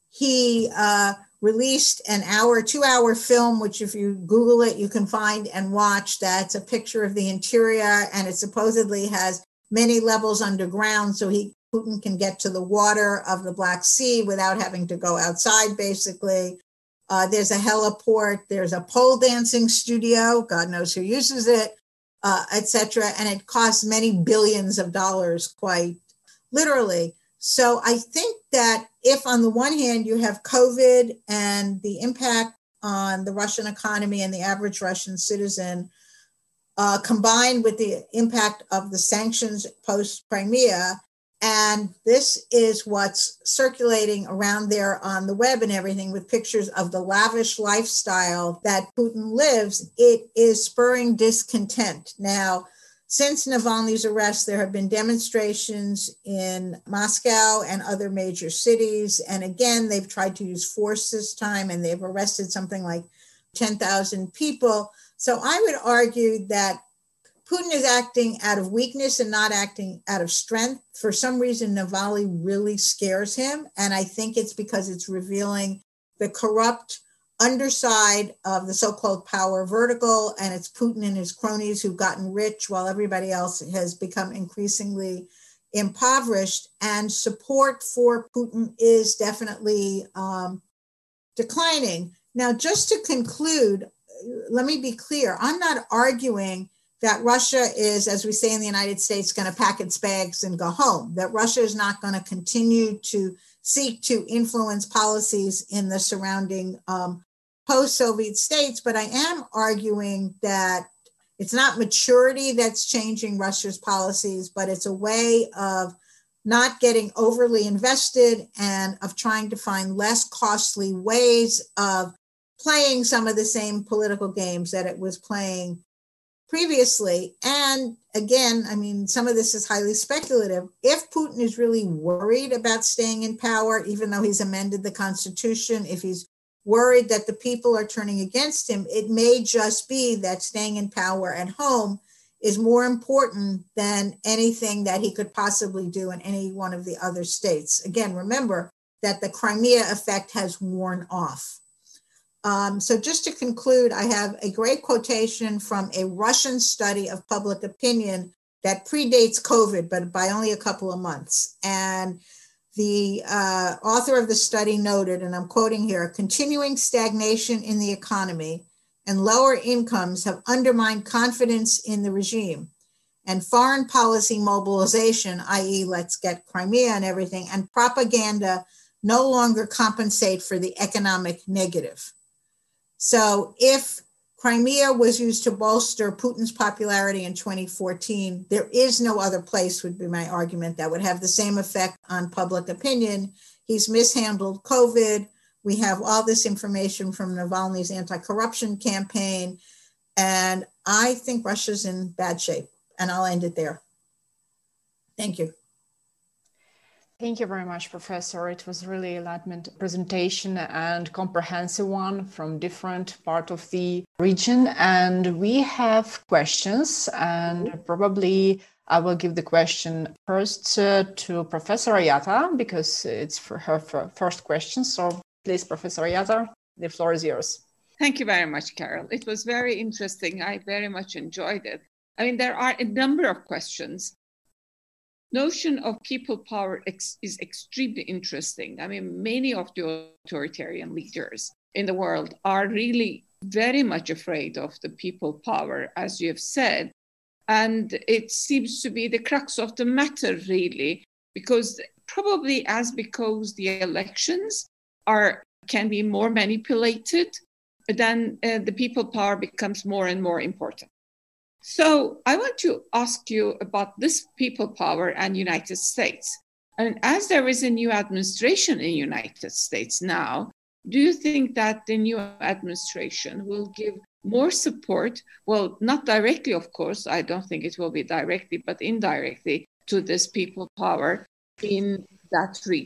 he uh, released an hour, two-hour film, which if you Google it, you can find and watch. That's a picture of the interior, and it supposedly has many levels underground, so he Putin can get to the water of the Black Sea without having to go outside, basically. Uh, there's a heliport, there's a pole dancing studio, God knows who uses it, uh, et cetera. And it costs many billions of dollars, quite literally. So I think that if on the one hand you have COVID and the impact on the Russian economy and the average Russian citizen, uh, combined with the impact of the sanctions post-Crimea, and this is what's circulating around there on the web and everything with pictures of the lavish lifestyle that Putin lives, it is spurring discontent. Now, since Navalny's arrest, there have been demonstrations in Moscow and other major cities. And again, they've tried to use force this time, and they've arrested something like ten thousand people. So I would argue that Putin is acting out of weakness and not acting out of strength. For some reason, Navalny really scares him. And I think it's because it's revealing the corrupt underside of the so-called power vertical. And it's Putin and his cronies who've gotten rich while everybody else has become increasingly impoverished. And support for Putin is definitely um, declining. Now, just to conclude, let me be clear. I'm not arguing that Russia is, as we say in the United States, going to pack its bags and go home, that Russia is not going to continue to seek to influence policies in the surrounding um, post-Soviet states. But I am arguing that it's not maturity that's changing Russia's policies, but it's a way of not getting overly invested and of trying to find less costly ways of playing some of the same political games that it was playing previously. And again, I mean, some of this is highly speculative. If Putin is really worried about staying in power, even though he's amended the Constitution, if he's worried that the people are turning against him, it may just be that staying in power at home is more important than anything that he could possibly do in any one of the other states. Again, remember that the Crimea effect has worn off. Um, so just to conclude, I have a great quotation from a Russian study of public opinion that predates COVID, but by only a couple of months. And the uh, author of the study noted, and I'm quoting here, continuing stagnation in the economy and lower incomes have undermined confidence in the regime. And foreign policy mobilization, that is let's get Crimea and everything, and propaganda no longer compensate for the economic negative. So if Crimea was used to bolster Putin's popularity in twenty fourteen, there is no other place, would be my argument, that would have the same effect on public opinion. He's mishandled COVID. We have all this information from Navalny's anti-corruption campaign. And I think Russia's in bad shape. And I'll end it there. Thank you. Thank you very much, Professor. It was really an enlightenment presentation and comprehensive one from different part of the region. And we have questions, and probably I will give the question first uh, to Professor Ayatta, because it's for her first question. So please, Professor Ayatta, the floor is yours. Thank you very much, Carol. It was very interesting. I very much enjoyed it. I mean, there are a number of questions. Notion of people power ex- is extremely interesting. I mean, many of the authoritarian leaders in the world are really very much afraid of the people power, as you have said. And it seems to be the crux of the matter, really, because probably as because the elections are can be more manipulated, then uh, the people power becomes more and more important. So I want to ask you about this people power and United States. And as there is a new administration in United States now, do you think that the new administration will give more support, well, not directly, of course, I don't think it will be directly, but indirectly to this people power in that region?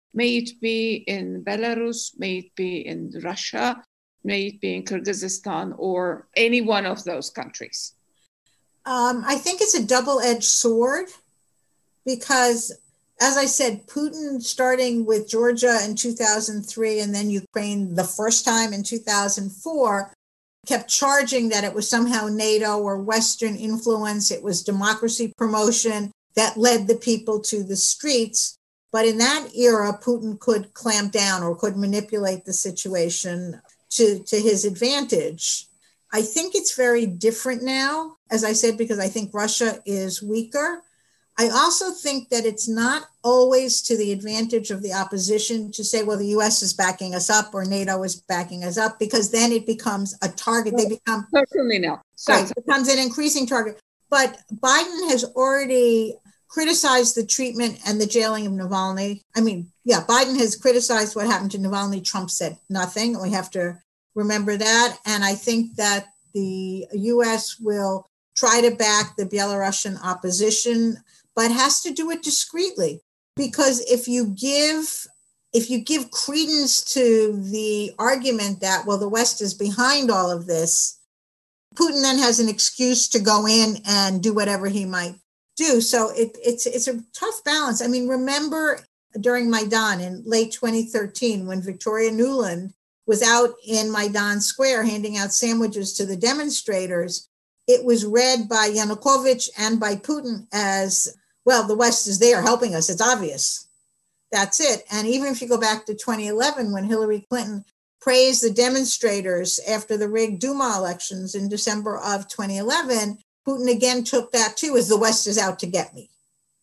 May it be in Belarus, may it be in Russia, may it be in Kyrgyzstan, or any one of those countries? Um, I think it's a double-edged sword because, as I said, Putin, starting with Georgia in two thousand three and then Ukraine the first time in two thousand four, kept charging that it was somehow NATO or Western influence. It was democracy promotion that led the people to the streets. But in that era, Putin could clamp down or could manipulate the situation to, to his advantage. I think it's very different now, as I said, because I think Russia is weaker. I also think that it's not always to the advantage of the opposition to say, well, the U S is backing us up or NATO is backing us up, because then it becomes a target. They become certainly no. Right, it becomes an increasing target. But Biden has already criticized the treatment and the jailing of Navalny. I mean, yeah, Biden has criticized what happened to Navalny. Trump said nothing. We have to remember that. And I think that the U S will try to back the Belarusian opposition, but has to do it discreetly. Because if you give if you give credence to the argument that, well, the West is behind all of this, Putin then has an excuse to go in and do whatever he might do. So it, it's it's a tough balance. I mean, remember during Maidan in late twenty thirteen, when Victoria Nuland was out in Maidan Square handing out sandwiches to the demonstrators, it was read by Yanukovych and by Putin as, well, the West is there helping us. It's obvious. That's it. And even if you go back to twenty eleven, when Hillary Clinton praised the demonstrators after the rigged Duma elections in December of twenty eleven, Putin again took that too as the West is out to get me.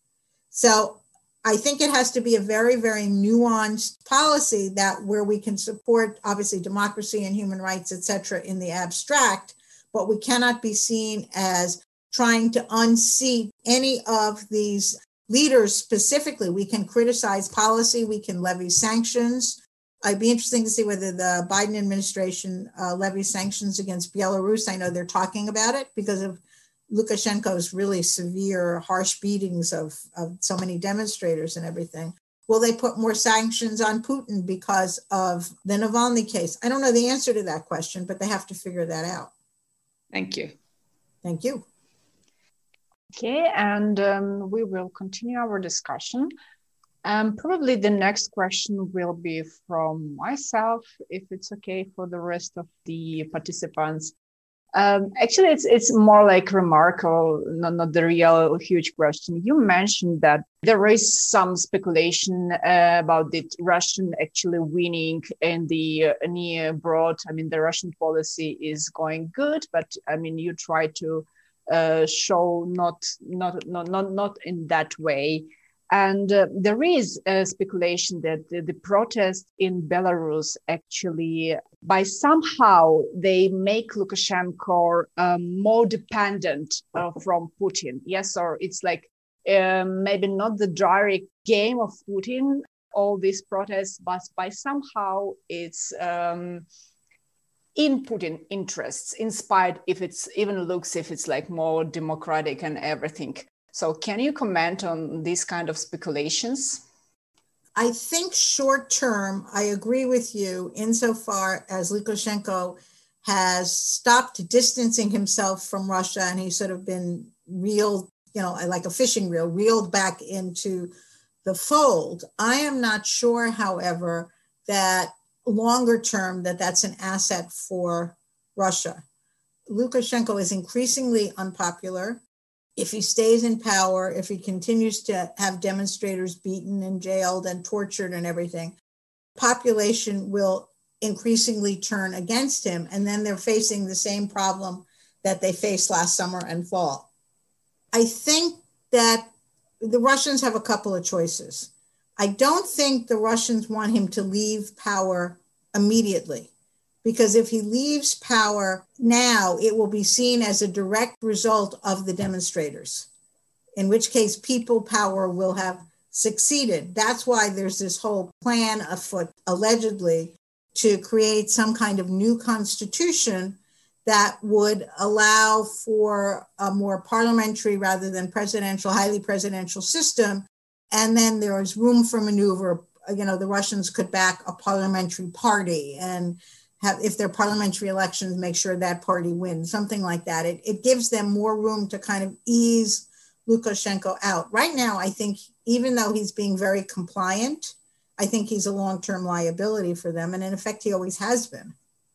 So I think it has to be a very, very nuanced policy that where we can support, obviously, democracy and human rights, et cetera, in the abstract, but we cannot be seen as trying to unseat any of these leaders specifically. We can criticize policy, we can levy sanctions. It'd be interesting to see whether the Biden administration uh, levies sanctions against Belarus. I know they're talking about it because of Lukashenko's really severe, harsh beatings of, of so many demonstrators and everything. Will they put more sanctions on Putin because of the Navalny case? I don't know the answer to that question, but they have to figure that out. Thank you. Thank you. Okay, and um, we will continue our discussion. Um, probably the next question will be from myself, if it's okay for the rest of the participants. Um, actually, it's it's more like remarkable, not, not the real huge question. You mentioned that there is some speculation uh, about the Russian actually winning in the uh, near abroad. I mean, the Russian policy is going good, but I mean, you try to uh, show not not not not not in that way. And uh, there is a speculation that the, the protest in Belarus actually, by somehow, they make Lukashenko um, more dependent uh, from Putin. Yes, or it's like um, maybe not the direct game of Putin, all these protests, but by somehow it's um, in Putin interests, in spite if it's even looks if it's like more democratic and everything. So can you comment on these kind of speculations? I think short term, I agree with you insofar as Lukashenko has stopped distancing himself from Russia and he's sort of been reeled, you know, like a fishing reel, reeled back into the fold. I am not sure, however, that longer term that that's an asset for Russia. Lukashenko is increasingly unpopular. If he stays in power, if he continues to have demonstrators beaten and jailed and tortured and everything, population will increasingly turn against him. And then they're facing the same problem that they faced last summer and fall. I think that the Russians have a couple of choices. I don't think the Russians want him to leave power immediately. Because if he leaves power now, it will be seen as a direct result of the demonstrators, in which case people power will have succeeded. That's why there's this whole plan afoot, allegedly, to create some kind of new constitution that would allow for a more parliamentary rather than presidential, highly presidential system. And then there is room for maneuver you know, the Russians could back a parliamentary party and have, if they're parliamentary elections, make sure that party wins, something like that. It, it gives them more room to kind of ease Lukashenko out. Right now, I think even though he's being very compliant, I think he's a long-term liability for them. And in effect, he always has been.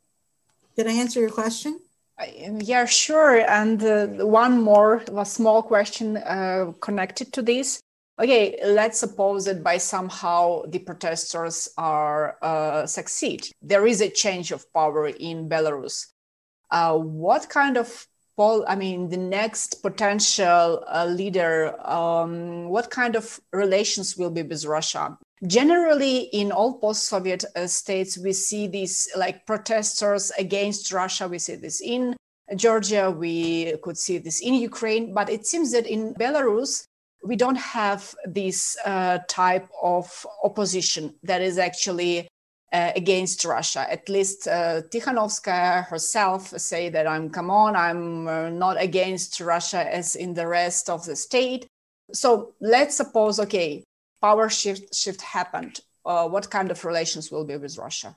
Did I answer your question? Yeah, sure. And uh, one more, a small question uh, connected to this. Okay, let's suppose that by somehow the protesters are uh, succeed. There is a change of power in Belarus. Uh, what kind of, pol- I mean, the next potential uh, leader, um, what kind of relations will be with Russia? Generally, in all post-Soviet uh, states, we see these like protesters against Russia. We see this in Georgia, we could see this in Ukraine, but it seems that in Belarus, we don't have this uh, type of opposition that is actually uh, against Russia. At least uh, Tikhanovskaya herself say that I'm, come on, I'm uh, not against Russia as in the rest of the state. So let's suppose, okay, power shift shift happened. Uh, what kind of relations will be with Russia?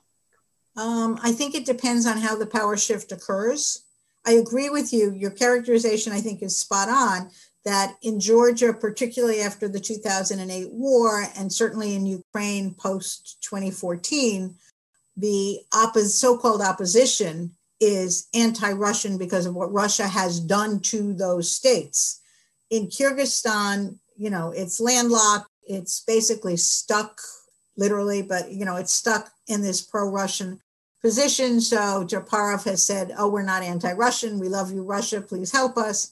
Um, I think it depends on how the power shift occurs. I agree with you. Your characterization, I think, is spot on, that in Georgia, particularly after the two thousand eight war, and certainly in Ukraine post twenty fourteen, the oppos- so-called opposition is anti-Russian because of what Russia has done to those states. In Kyrgyzstan, you know, it's landlocked. It's basically stuck, literally, but, you know, it's stuck in this pro-Russian position. So Japarov has said, oh, we're not anti-Russian. We love you, Russia. Please help us.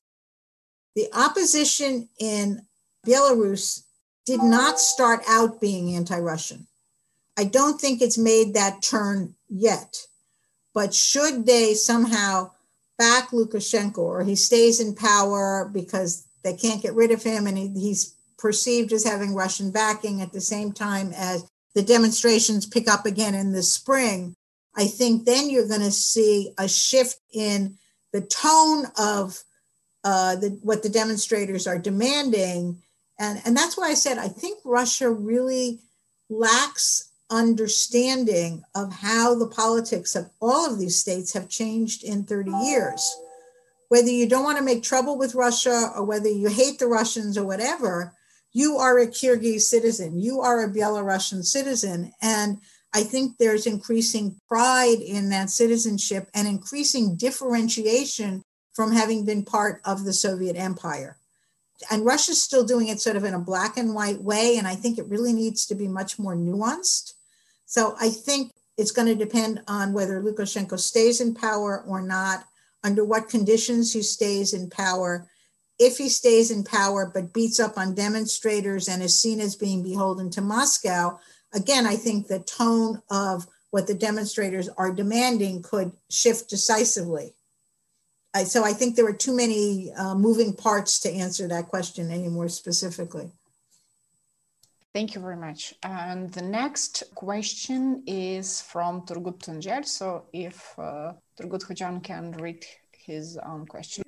The opposition in Belarus did not start out being anti-Russian. I don't think it's made that turn yet. But should they somehow back Lukashenko, or he stays in power because they can't get rid of him and he, he's perceived as having Russian backing at the same time as the demonstrations pick up again in the spring, I think then you're going to see a shift in the tone of uh, the, what the demonstrators are demanding. And, and that's why I said, I think Russia really lacks understanding of how the politics of all of these states have changed in thirty years. Whether you don't want to make trouble with Russia or whether you hate the Russians or whatever, you are a Kyrgyz citizen, you are a Belarusian citizen. And I think there's increasing pride in that citizenship and increasing differentiation from having been part of the Soviet Empire. And Russia's still doing it sort of in a black and white way. And I think it really needs to be much more nuanced. So I think it's going to depend on whether Lukashenko stays in power or not, under what conditions he stays in power. If he stays in power but beats up on demonstrators and is seen as being beholden to Moscow, again, I think the tone of what the demonstrators are demanding could shift decisively. I, so I think there are too many uh, moving parts to answer that question any more specifically. Thank you very much. And the next question is from Turgut Tuncel. So if uh, Turgut Hocan can read his own question.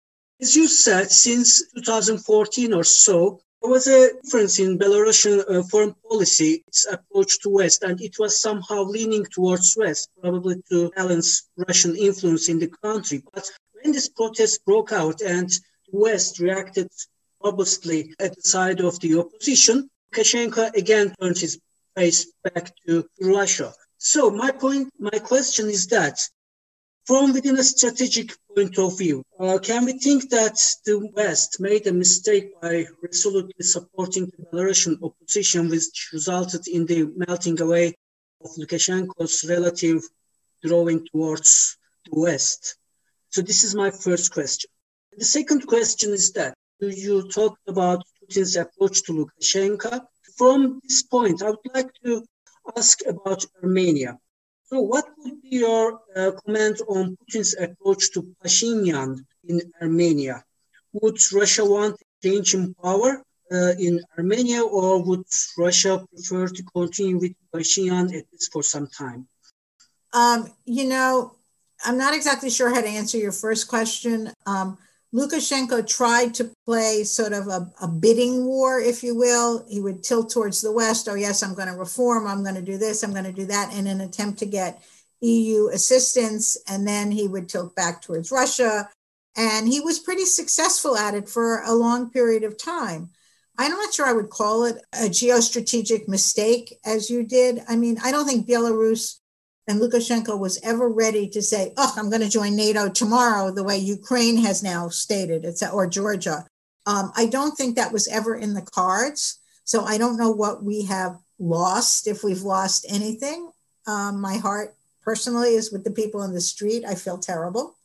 As you said, since two thousand fourteen or so, there was a difference in Belarusian uh, foreign policy, its approach to West, and it was somehow leaning towards West, probably to balance Russian influence in the country. But when this protest broke out and the West reacted robustly at the side of the opposition, Lukashenko again turned his face back to Russia. So my point, my question is that, from within a strategic point of view, uh, can we think that the West made a mistake by resolutely supporting the Belarusian opposition, which resulted in the melting away of Lukashenko's relative drawing towards the West? So this is my first question. The second question is that, you talked about Putin's approach to Lukashenko. From this point, I would like to ask about Armenia. So what would be your uh, comment on Putin's approach to Pashinyan in Armenia? Would Russia want a change in power uh, in Armenia, or would Russia prefer to continue with Pashinyan at least for some time? Um, you know, I'm not exactly sure how to answer your first question. Um, Lukashenko tried to play sort of a, a bidding war, if you will. He would tilt towards the West. Oh, yes, I'm going to reform. I'm going to do this. I'm going to do that in an attempt to get E U assistance. And then he would tilt back towards Russia. And he was pretty successful at it for a long period of time. I'm not sure I would call it a geostrategic mistake, as you did. I mean, I don't think Belarus and Lukashenko was ever ready to say, oh, I'm going to join NATO tomorrow, the way Ukraine has now stated, it's, or Georgia. Um, I don't think that was ever in the cards. So I don't know what we have lost, if we've lost anything. Um, my heart personally is with the people in the street. I feel terrible.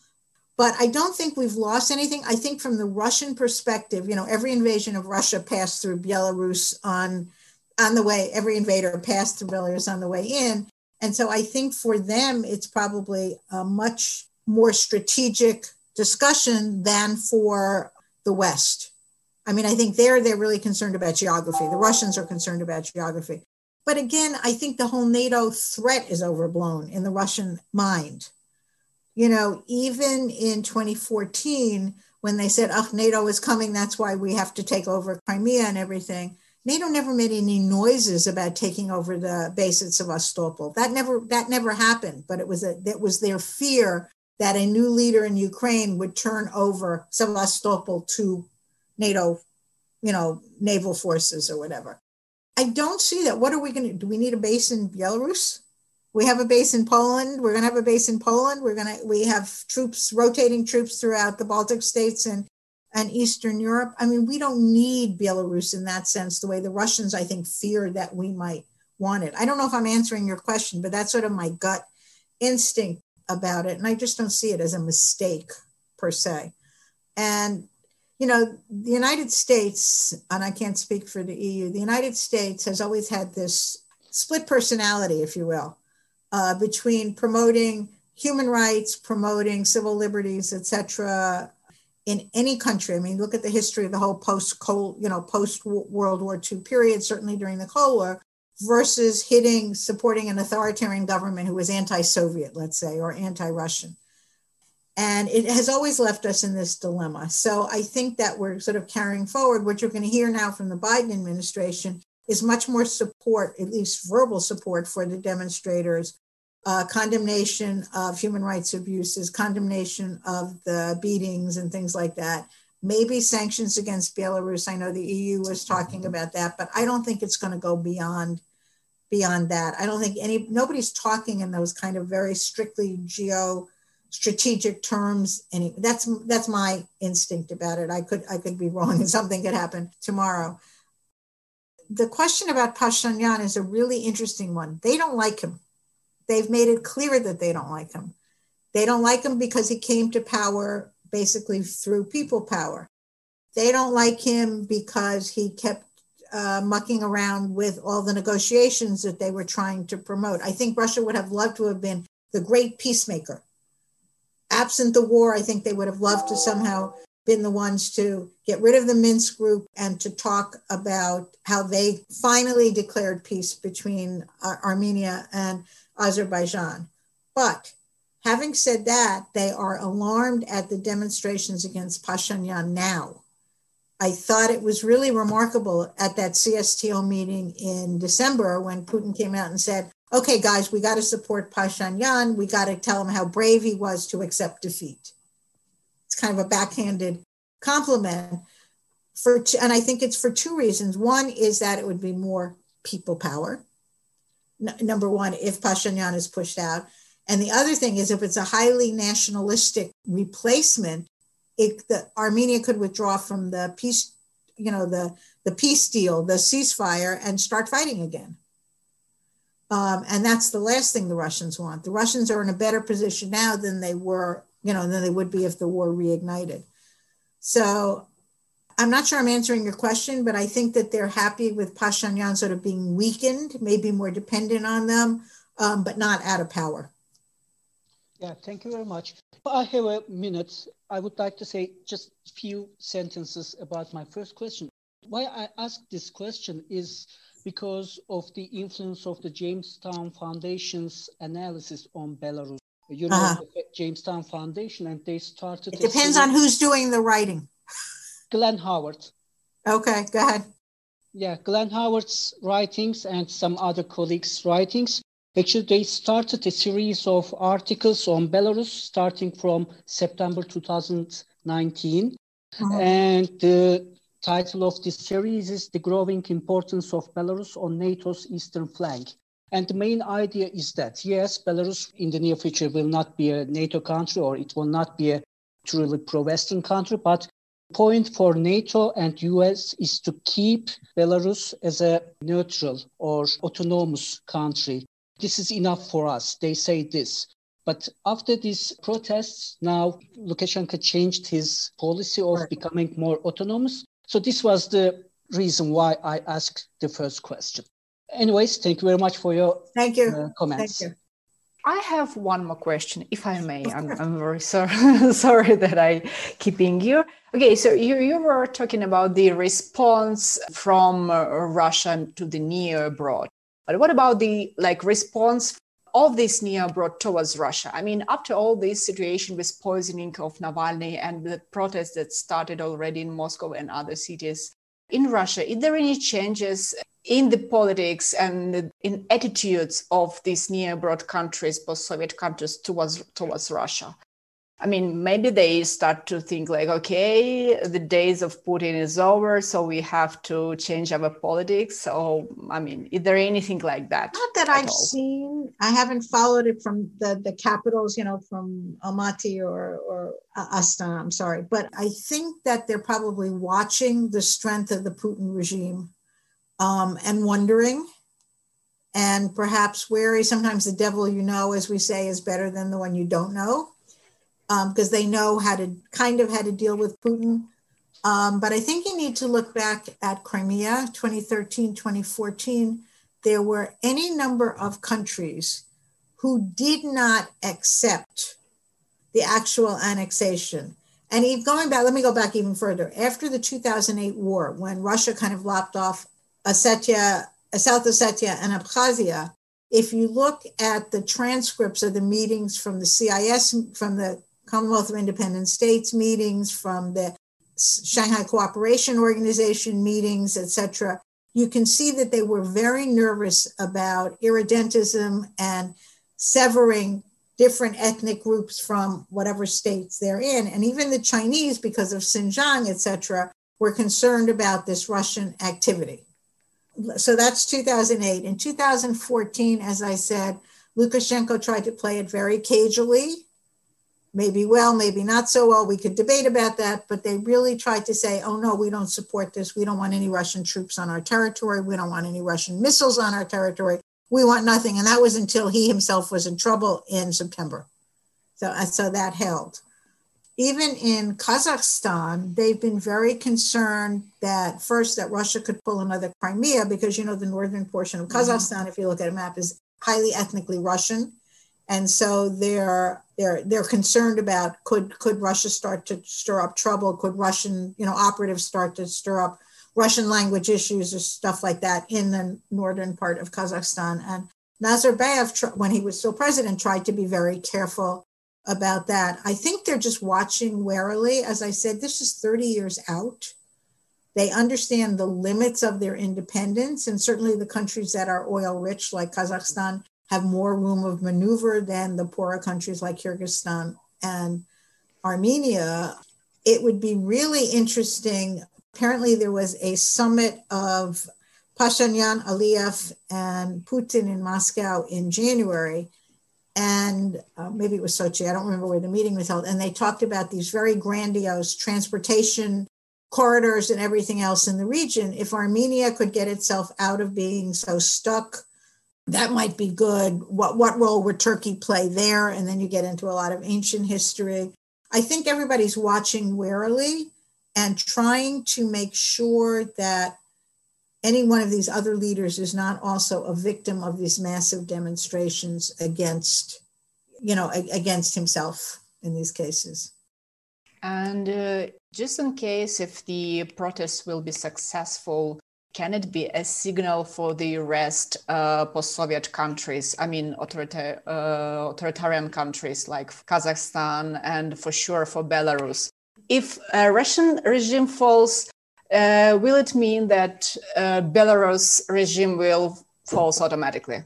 But I don't think we've lost anything. I think from the Russian perspective, you know, every invasion of Russia passed through Belarus on, on the way, every invader passed through Belarus on the way in. And so I think for them, it's probably a much more strategic discussion than for the West. I mean, I think there they're really concerned about geography. The Russians are concerned about geography. But again, I think the whole NATO threat is overblown in the Russian mind. You know, even in twenty fourteen, when they said, oh, NATO is coming, that's why we have to take over Crimea and everything, NATO never made any noises about taking over the base at Sevastopol. That never that never happened, but it was a, it was their fear that a new leader in Ukraine would turn over Sevastopol to NATO, you know, naval forces or whatever. I don't see that. What are we going to do? We need a base in Belarus? We have a base in Poland. We're going to have a base in Poland. We're going to, we have troops, rotating troops throughout the Baltic states and, and Eastern Europe. I mean, we don't need Belarus in that sense, the way the Russians, I think, fear that we might want it. I don't know if I'm answering your question, but that's sort of my gut instinct about it. And I just don't see it as a mistake per se. And, you know, the United States, and I can't speak for the E U, the United States has always had this split personality, if you will, Uh, between promoting human rights, promoting civil liberties, et cetera, in any country. I mean, look at the history of the whole post-Cold, you know, post-World War Two period, certainly during the Cold War, versus hitting, supporting an authoritarian government who was anti-Soviet, let's say, or anti-Russian. And it has always left us in this dilemma. So I think that we're sort of carrying forward. What you're going to hear now from the Biden administration is much more support, at least verbal support, for the demonstrators, uh, condemnation of human rights abuses, condemnation of the beatings and things like that. Maybe sanctions against Belarus. I know the E U was talking about that, but I don't think it's going to go beyond, beyond that. I don't think any, nobody's talking in those kind of very strictly geo-strategic terms. Any, that's, that's my instinct about it. I could, I could be wrong and something could happen tomorrow. The question about Pashinyan is a really interesting one. They don't like him. They've made it clear that they don't like him. They don't like him because he came to power basically through people power. They don't like him because he kept uh, mucking around with all the negotiations that they were trying to promote. I think Russia would have loved to have been the great peacemaker. Absent the war, I think they would have loved to somehow been the ones to get rid of the Minsk group and to talk about how they finally declared peace between uh, Armenia and Azerbaijan. But having said that, they are alarmed at the demonstrations against Pashinyan now. I thought it was really remarkable at that C S T O meeting in December when Putin came out and said, okay, guys, we got to support Pashinyan. We got to tell him how brave he was to accept defeat. It's kind of a backhanded compliment. For, and I think it's for two reasons. One is that it would be more people power. N- number one, if Pashinyan is pushed out. And the other thing is if it's a highly nationalistic replacement, it, the, Armenia could withdraw from the peace, you know, the, the peace deal, the ceasefire, and start fighting again. Um, and that's the last thing the Russians want. The Russians are in a better position now than they were, you know, than they would be if the war reignited. So I'm not sure I'm answering your question, but I think that they're happy with Pashinyan sort of being weakened, maybe more dependent on them, um, but not out of power. Yeah, thank you very much. I have a minute. I would like to say just a few sentences about my first question. Why I ask this question is because of the influence of the Jamestown Foundation's analysis on Belarus. you know, Uh-huh. the Jamestown Foundation, and they started. It depends on who's doing the writing. Glenn Howard. Okay, go ahead. Yeah, Glenn Howard's writings and some other colleagues' writings. Actually, they started a series of articles on Belarus starting from September two thousand nineteen. Uh-huh. And the title of this series is The Growing Importance of Belarus on NATO's Eastern Flank. And the main idea is that, yes, Belarus in the near future will not be a NATO country, or it will not be a truly pro-Western country, but the point for NATO and U S is to keep Belarus as a neutral or autonomous country. This is enough for us, they say this. But after these protests, now Lukashenko changed his policy of Right. becoming more autonomous. So this was the reason why I asked the first question. Anyways, thank you very much for your Thank you. uh, comments. Thank you. I have one more question, if I may. I'm, I'm very sorry, sorry that I keeping you. Okay, so you, you were talking about the response from uh, Russia to the near abroad. But what about the like response of this near abroad towards Russia? I mean, after all this situation with poisoning of Navalny and the protests that started already in Moscow and other cities in Russia, is there any changes in the politics and in attitudes of these near abroad countries, post-Soviet countries towards towards Russia? I mean, maybe they start to think like, okay, the days of Putin is over, so we have to change our politics. So, I mean, is there anything like that? Not that at I've all? seen. I haven't followed it from the, the capitals, you know, from Almaty or, or Astana, I'm sorry. But I think that they're probably watching the strength of the Putin regime um, and wondering, and perhaps wary. Sometimes the devil you know, as we say, is better than the one you don't know, because um, they know how to kind of how to deal with Putin. Um, but I think you need to look back at Crimea, twenty thirteen, twenty fourteen. There were any number of countries who did not accept the actual annexation. And even going back, let me go back even further. After the two thousand eight war, when Russia kind of lopped off Ossetia, South Ossetia and Abkhazia, if you look at the transcripts of the meetings from the C I S, from the Commonwealth of Independent States meetings, from the Shanghai Cooperation Organization meetings, et cetera, you can see that they were very nervous about irredentism and severing different ethnic groups from whatever states they're in. And even the Chinese, because of Xinjiang, et cetera, were concerned about this Russian activity. So that's two thousand eight. In two thousand fourteen, as I said, Lukashenko tried to play it very cagily. Maybe well, maybe not so well. We could debate about that, but they really tried to say, oh no, we don't support this. We don't want any Russian troops on our territory. We don't want any Russian missiles on our territory. We want nothing. And that was until he himself was in trouble in September. So, so that held. Even in Kazakhstan, they've been very concerned that first that Russia could pull another Crimea, because, you know, the northern portion of Kazakhstan, mm-hmm. if you look at a map, is highly ethnically Russian. And so they're they're they're concerned about could could Russia start to stir up trouble? Could Russian, you know, operatives start to stir up Russian language issues or stuff like that in the northern part of Kazakhstan? And Nazarbayev, when he was still president, tried to be very careful about that. I think they're just watching warily. As I said, this is thirty years out. They understand the limits of their independence, and certainly the countries that are oil rich, like Kazakhstan, have more room of maneuver than the poorer countries like Kyrgyzstan and Armenia. It would be really interesting. Apparently there was a summit of Pashinyan, Aliyev, and Putin in Moscow in January. And uh, maybe it was Sochi, I don't remember where the meeting was held. And they talked about these very grandiose transportation corridors and everything else in the region. If Armenia could get itself out of being so stuck, that might be good. What, what role would Turkey play there? And then you get into a lot of ancient history. I think everybody's watching warily and trying to make sure that any one of these other leaders is not also a victim of these massive demonstrations against, you know, against himself in these cases. And uh, just in case if the protests will be successful can it be a signal for the rest uh, post-Soviet countries? I mean, authorita- uh, authoritarian countries like Kazakhstan and for sure for Belarus. If a Russian regime falls, uh, will it mean that uh, Belarus regime will fall automatically?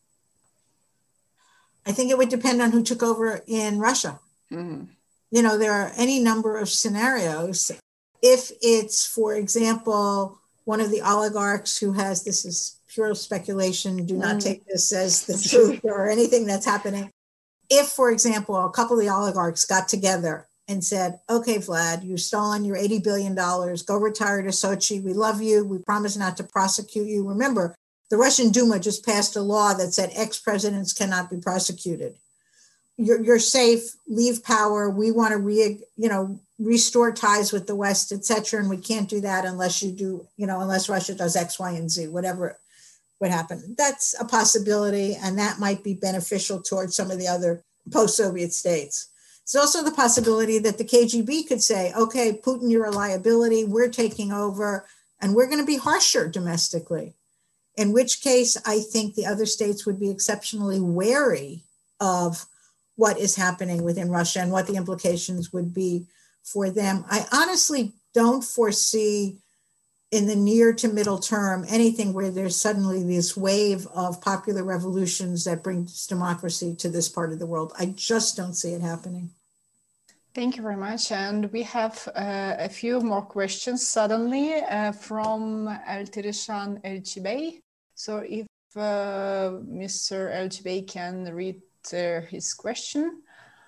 I think it would depend on who took over in Russia. Mm-hmm. You know, there are any number of scenarios. If it's, for example, one of the oligarchs who has, this is pure speculation, do not mm. take this as the truth or anything that's happening. If, for example, a couple of the oligarchs got together and said, okay, Vlad, you've stolen your eighty billion dollars, go retire to Sochi. We love you. We promise not to prosecute you. Remember, the Russian Duma just passed a law that said ex-presidents cannot be prosecuted. You're, you're safe, leave power. We want to re, you know, restore ties with the West, et cetera. And we can't do that unless you do, you know, unless Russia does X, Y, and Z, whatever would happen. That's a possibility. And that might be beneficial towards some of the other post-Soviet states. It's also the possibility that the K G B could say, okay, Putin, you're a liability. We're taking over and we're going to be harsher domestically. In which case, I think the other states would be exceptionally wary of what is happening within Russia and what the implications would be for them. I honestly don't foresee in the near to middle term anything where there's suddenly this wave of popular revolutions that brings democracy to this part of the world. I just don't see it happening. Thank you very much. And we have uh, a few more questions suddenly uh, from Eltirishan Elchibey. So if uh, Mister Elchibey can read uh, his question.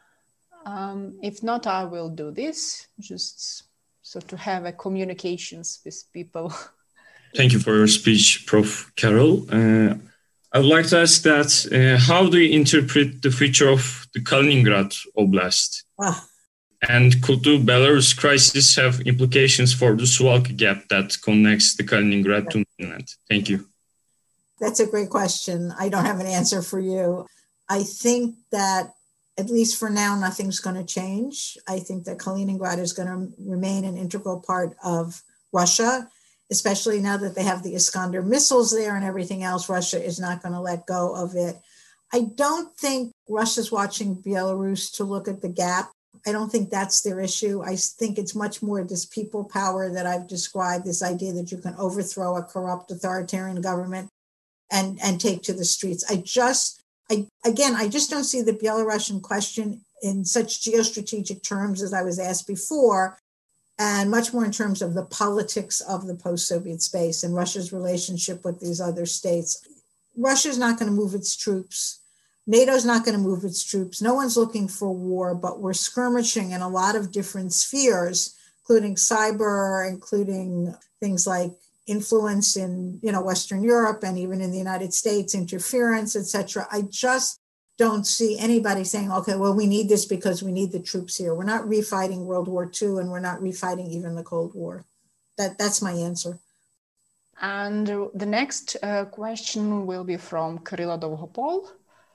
Um, if not, I will do this, just so to have a communications with people. Thank you for your speech, Professor Carol. Uh, I would like to ask that, uh, how do you interpret the future of the Kaliningrad Oblast? Ah. And could the Belarus crisis have implications for the Suwalki Gap that connects the Kaliningrad to mainland? Thank you. That's a great question. I don't have an answer for you. I think that at least for now, nothing's going to change. I think that Kaliningrad is going to remain an integral part of Russia, especially now that they have the Iskander missiles there and everything else. Russia is not going to let go of it. I don't think Russia's watching Belarus to look at the gap. I don't think that's their issue. I think it's much more this people power that I've described, this idea that you can overthrow a corrupt authoritarian government and, and take to the streets. I just, I, again, I just don't see the Belarusian question in such geostrategic terms as I was asked before, and much more in terms of the politics of the post-Soviet space and Russia's relationship with these other states. Russia's not going to move its troops. NATO's not going to move its troops. No one's looking for war, but we're skirmishing in a lot of different spheres, including cyber, including things like influence in, you know, Western Europe and even in the United States, interference, et cetera. I just don't see anybody saying, okay, well, we need this because we need the troops here. We're not refighting World War Two, and we're not refighting even the Cold War. That, that's my answer. And the next uh, question will be from Kirilo Dovhopol.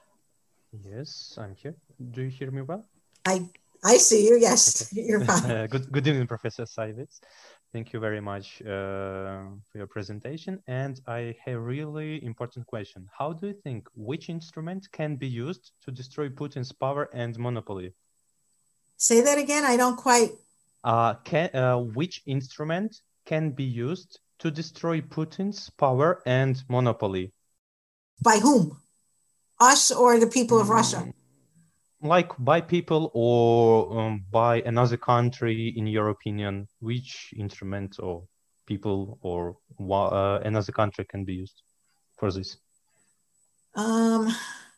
Yes, I'm here. Do you hear me well? I I see you. Yes, okay. You're fine. uh, good, good evening, Professor Seywitz. Thank you very much uh, for your presentation. And I have a really important question. How do you think which instrument can be used to destroy Putin's power and monopoly? Say that again. I don't quite. Uh, can, uh, which instrument can be used to destroy Putin's power and monopoly? By whom? Us or the people of Russia? Like by people or um, by another country, in your opinion, which instrument or people or uh, another country can be used for this? Um,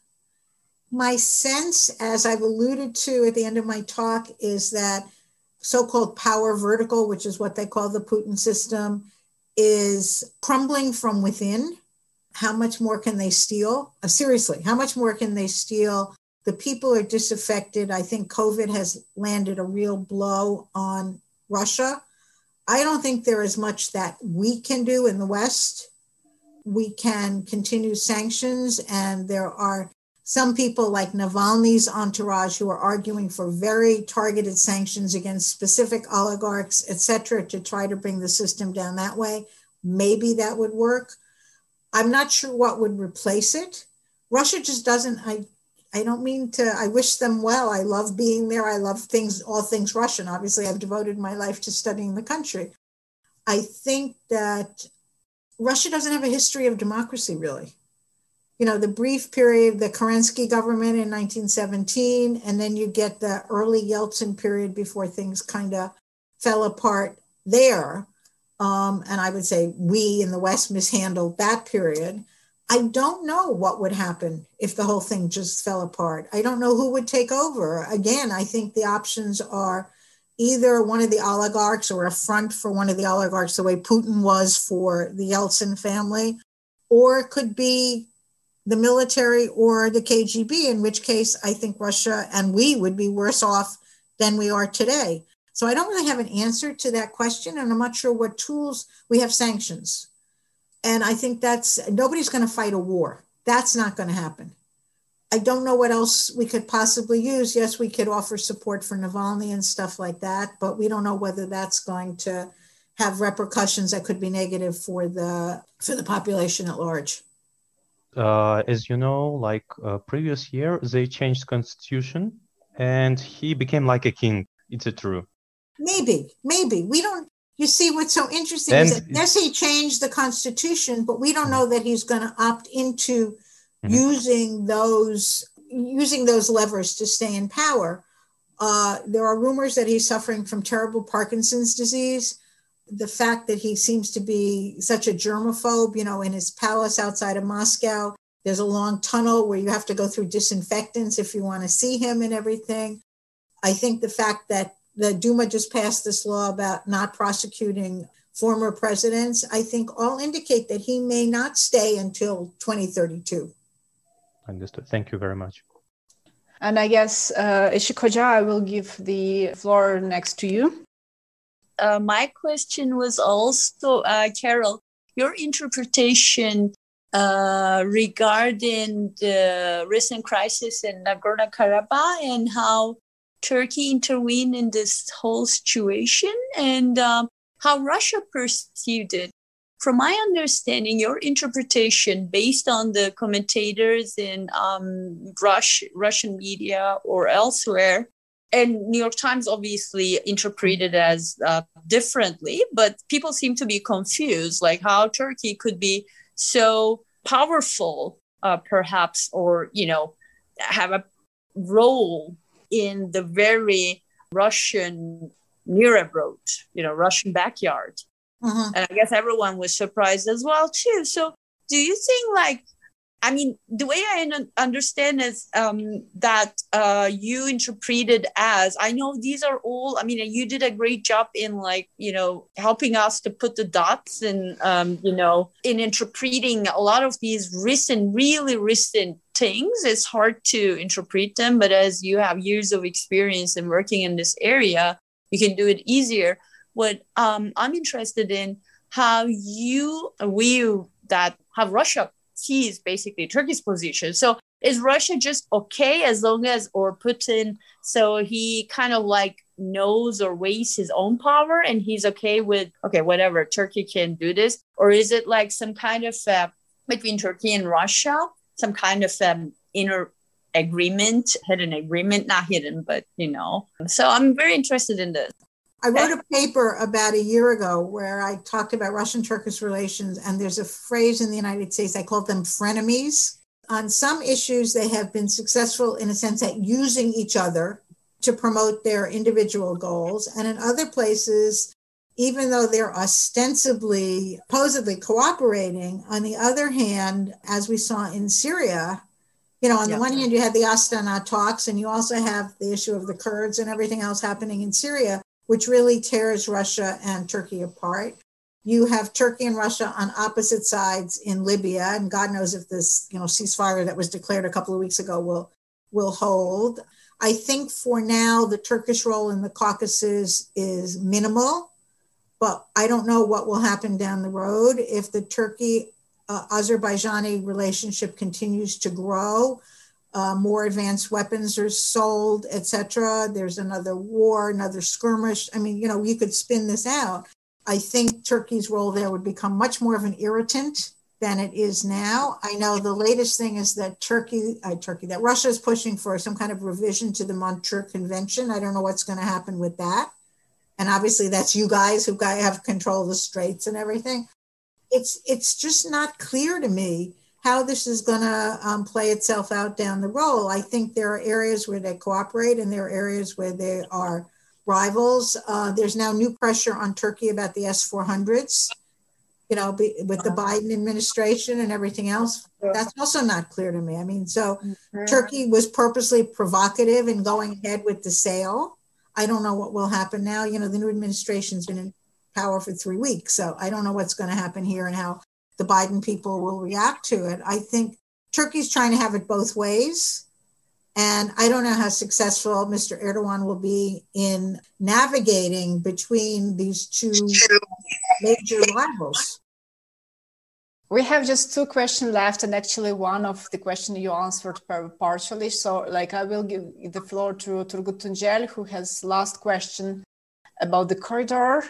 my sense, as I've alluded to at the end of my talk, is that so-called power vertical, which is what they call the Putin system, is crumbling from within. How much more can they steal? Uh, seriously, how much more can they steal? The people are disaffected. I think COVID has landed a real blow on Russia. I don't think there is much that we can do in the West. We can continue sanctions, and there are some people like Navalny's entourage who are arguing for very targeted sanctions against specific oligarchs, et cetera, to try to bring the system down that way. maybe that would work. I'm not sure what would replace it. Russia just doesn't, I, I don't mean to, I wish them well. I love being there. I love things, all things Russian. Obviously, I've devoted my life to studying the country. I think that Russia doesn't have a history of democracy, really. You know, the brief period, the Kerensky government in nineteen seventeen, and then you get the early Yeltsin period before things kind of fell apart there. Um, and I would say we in the West mishandled that period. I don't know what would happen if the whole thing just fell apart. I don't know who would take over. Again, I think the options are either one of the oligarchs or a front for one of the oligarchs, the way Putin was for the Yeltsin family, or it could be the military or the K G B, in which case I think Russia and we would be worse off than we are today. So I don't really have an answer to that question, and I'm not sure what tools. We have sanctions. And I think that's, nobody's going to fight a war. That's not going to happen. I don't know what else we could possibly use. Yes, we could offer support for Navalny and stuff like that, but we don't know whether that's going to have repercussions that could be negative for the for the population at large. Uh, as you know, like uh, previous year, they changed constitution and he became like a king. Is it true? Maybe, maybe. We don't, you see what's so interesting and, is that yes, he changed the constitution, but we don't know that he's going to opt into mm-hmm. using those using those levers to stay in power. Uh, there are rumors that he's suffering from terrible Parkinson's disease. The fact that he seems to be such a germaphobe, you know, in his palace outside of Moscow, there's a long tunnel where you have to go through disinfectants if you want to see him and everything. I think the fact that the Duma just passed this law about not prosecuting former presidents, I think all indicate that he may not stay until twenty thirty-two. Understood. Thank you very much. And I guess, uh, Işık Hoca, I will give the floor next to you. Uh, my question was also, uh, Carol, your interpretation uh, regarding the recent crisis in Nagorno-Karabakh and how Turkey intervened in this whole situation and um, how Russia perceived it. From my understanding, your interpretation based on the commentators in um, Rush, Russian media or elsewhere, and New York Times obviously interpreted as uh, differently, but people seem to be confused, like how Turkey could be so powerful, uh, perhaps, or, you know, have a role in the very Russian Nuremberg Road, you know, Russian backyard. Uh-huh. And I guess everyone was surprised as well, too. So do you think, like, I mean, the way I understand is um, that uh, you interpreted as, I know these are all, I mean, you did a great job in, like, you know, helping us to put the dots and, um, you know, in interpreting a lot of these recent, really recent things. It's hard to interpret them, but as you have years of experience in working in this area, you can do it easier. What um, I'm interested in, how you view that, how Russia sees basically Turkey's position. So is Russia just okay as long as, or Putin, so he kind of like knows or weighs his own power and he's okay with, okay, whatever, Turkey can do this? Or is it like some kind of, uh, between Turkey and Russia, some kind of um, inner agreement, hidden agreement, not hidden, but, you know. So I'm very interested in this. I wrote a paper about a year ago where I talked about Russian-Turkish relations, and there's a phrase in the United States, I call them frenemies. On some issues, they have been successful in a sense at using each other to promote their individual goals. And in other places, even though they're ostensibly, supposedly cooperating, on the other hand, as we saw in Syria, you know, on yeah. the one hand, you had the Astana talks, and you also have the issue of the Kurds and everything else happening in Syria, which really tears Russia and Turkey apart. You have Turkey and Russia on opposite sides in Libya, and God knows if this, you know, ceasefire that was declared a couple of weeks ago will, will hold. I think for now, the Turkish role in the Caucasus is minimal, but I don't know what will happen down the road. If the Turkey-Azerbaijani relationship continues to grow, Uh, more advanced weapons are sold, et cetera. There's another war, another skirmish. I mean, you know, you could spin this out. I think Turkey's role there would become much more of an irritant than it is now. I know the latest thing is that Turkey, uh, Turkey, that Russia is pushing for some kind of revision to the Montreux Convention. I don't know what's going to happen with that. And obviously that's you guys who have control of the straits and everything. It's, it's just not clear to me how this is going to um, play itself out down the road. I think there are areas where they cooperate and there are areas where they are rivals. Uh, there's now new pressure on Turkey about the S four hundreds. You know, be, with the Biden administration and everything else, that's also not clear to me. I mean, so mm-hmm. Turkey was purposely provocative in going ahead with the sale. I don't know what will happen now. You know, the new administration's been in power for three weeks, so I don't know what's going to happen here and how the Biden people will react to it. I think Turkey's trying to have it both ways. And I don't know how successful Mister Erdogan will be in navigating between these two major rivals. We have just two questions left, and actually one of the questions you answered partially. So like I will give the floor to Turgut Tuncel, who has last question about the corridor.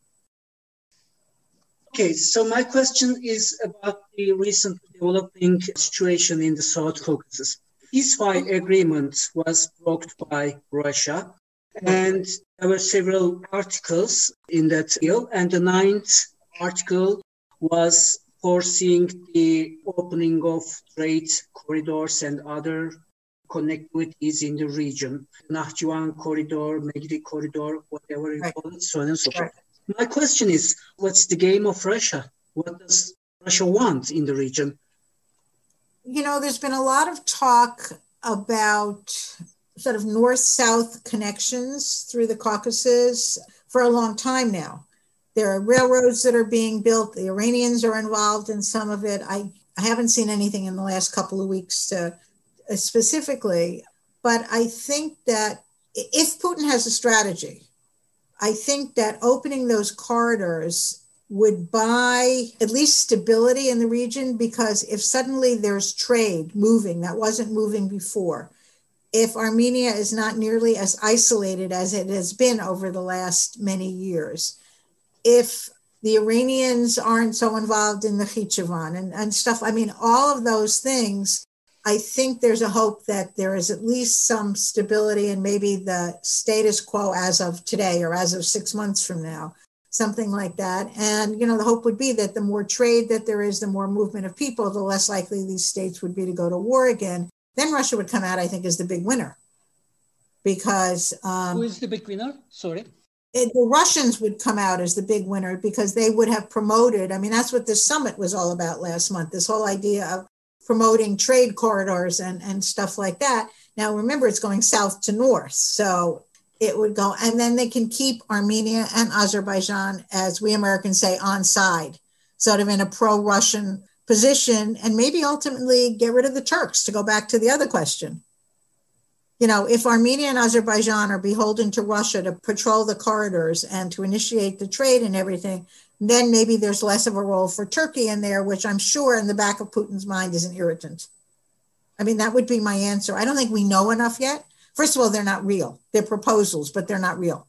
Okay, so my question is about the recent developing situation in the South Caucasus. Ceasefire agreement was blocked by Russia, and there were several articles in that deal, and the ninth article was foreseeing the opening of trade corridors and other connectivities in the region, Nahchivan corridor, Megri corridor, whatever you call it, so on and so forth. My question is, what's the game of Russia? What does Russia want in the region? You know, there's been a lot of talk about sort of north-south connections through the Caucasus for a long time now. There are railroads that are being built. The Iranians are involved in some of it. I, I haven't seen anything in the last couple of weeks uh, specifically, but I think that if Putin has a strategy, I think that opening those corridors would buy at least stability in the region, because if suddenly there's trade moving that wasn't moving before, if Armenia is not nearly as isolated as it has been over the last many years, if the Iranians aren't so involved in the Khichevan and, and stuff, I mean, all of those things, I think there's a hope that there is at least some stability and maybe the status quo as of today or as of six months from now. Something like that. And, you know, the hope would be that the more trade that there is, the more movement of people, the less likely these states would be to go to war again. Then Russia would come out, I think, as the big winner. Because... Um, Who is the big winner? Sorry. It, the Russians would come out as the big winner because they would have promoted, I mean, that's what this summit was all about last month, this whole idea of promoting trade corridors and, and stuff like that. Now, remember, it's going south to north. So it would go, and then they can keep Armenia and Azerbaijan, as we Americans say, on side, sort of in a pro-Russian position, and maybe ultimately get rid of the Turks, to go back to the other question. You know, if Armenia and Azerbaijan are beholden to Russia to patrol the corridors and to initiate the trade and everything, then maybe there's less of a role for Turkey in there, which I'm sure in the back of Putin's mind is an irritant. I mean, that would be my answer. I don't think we know enough yet. First of all, they're not real. They're proposals, but they're not real.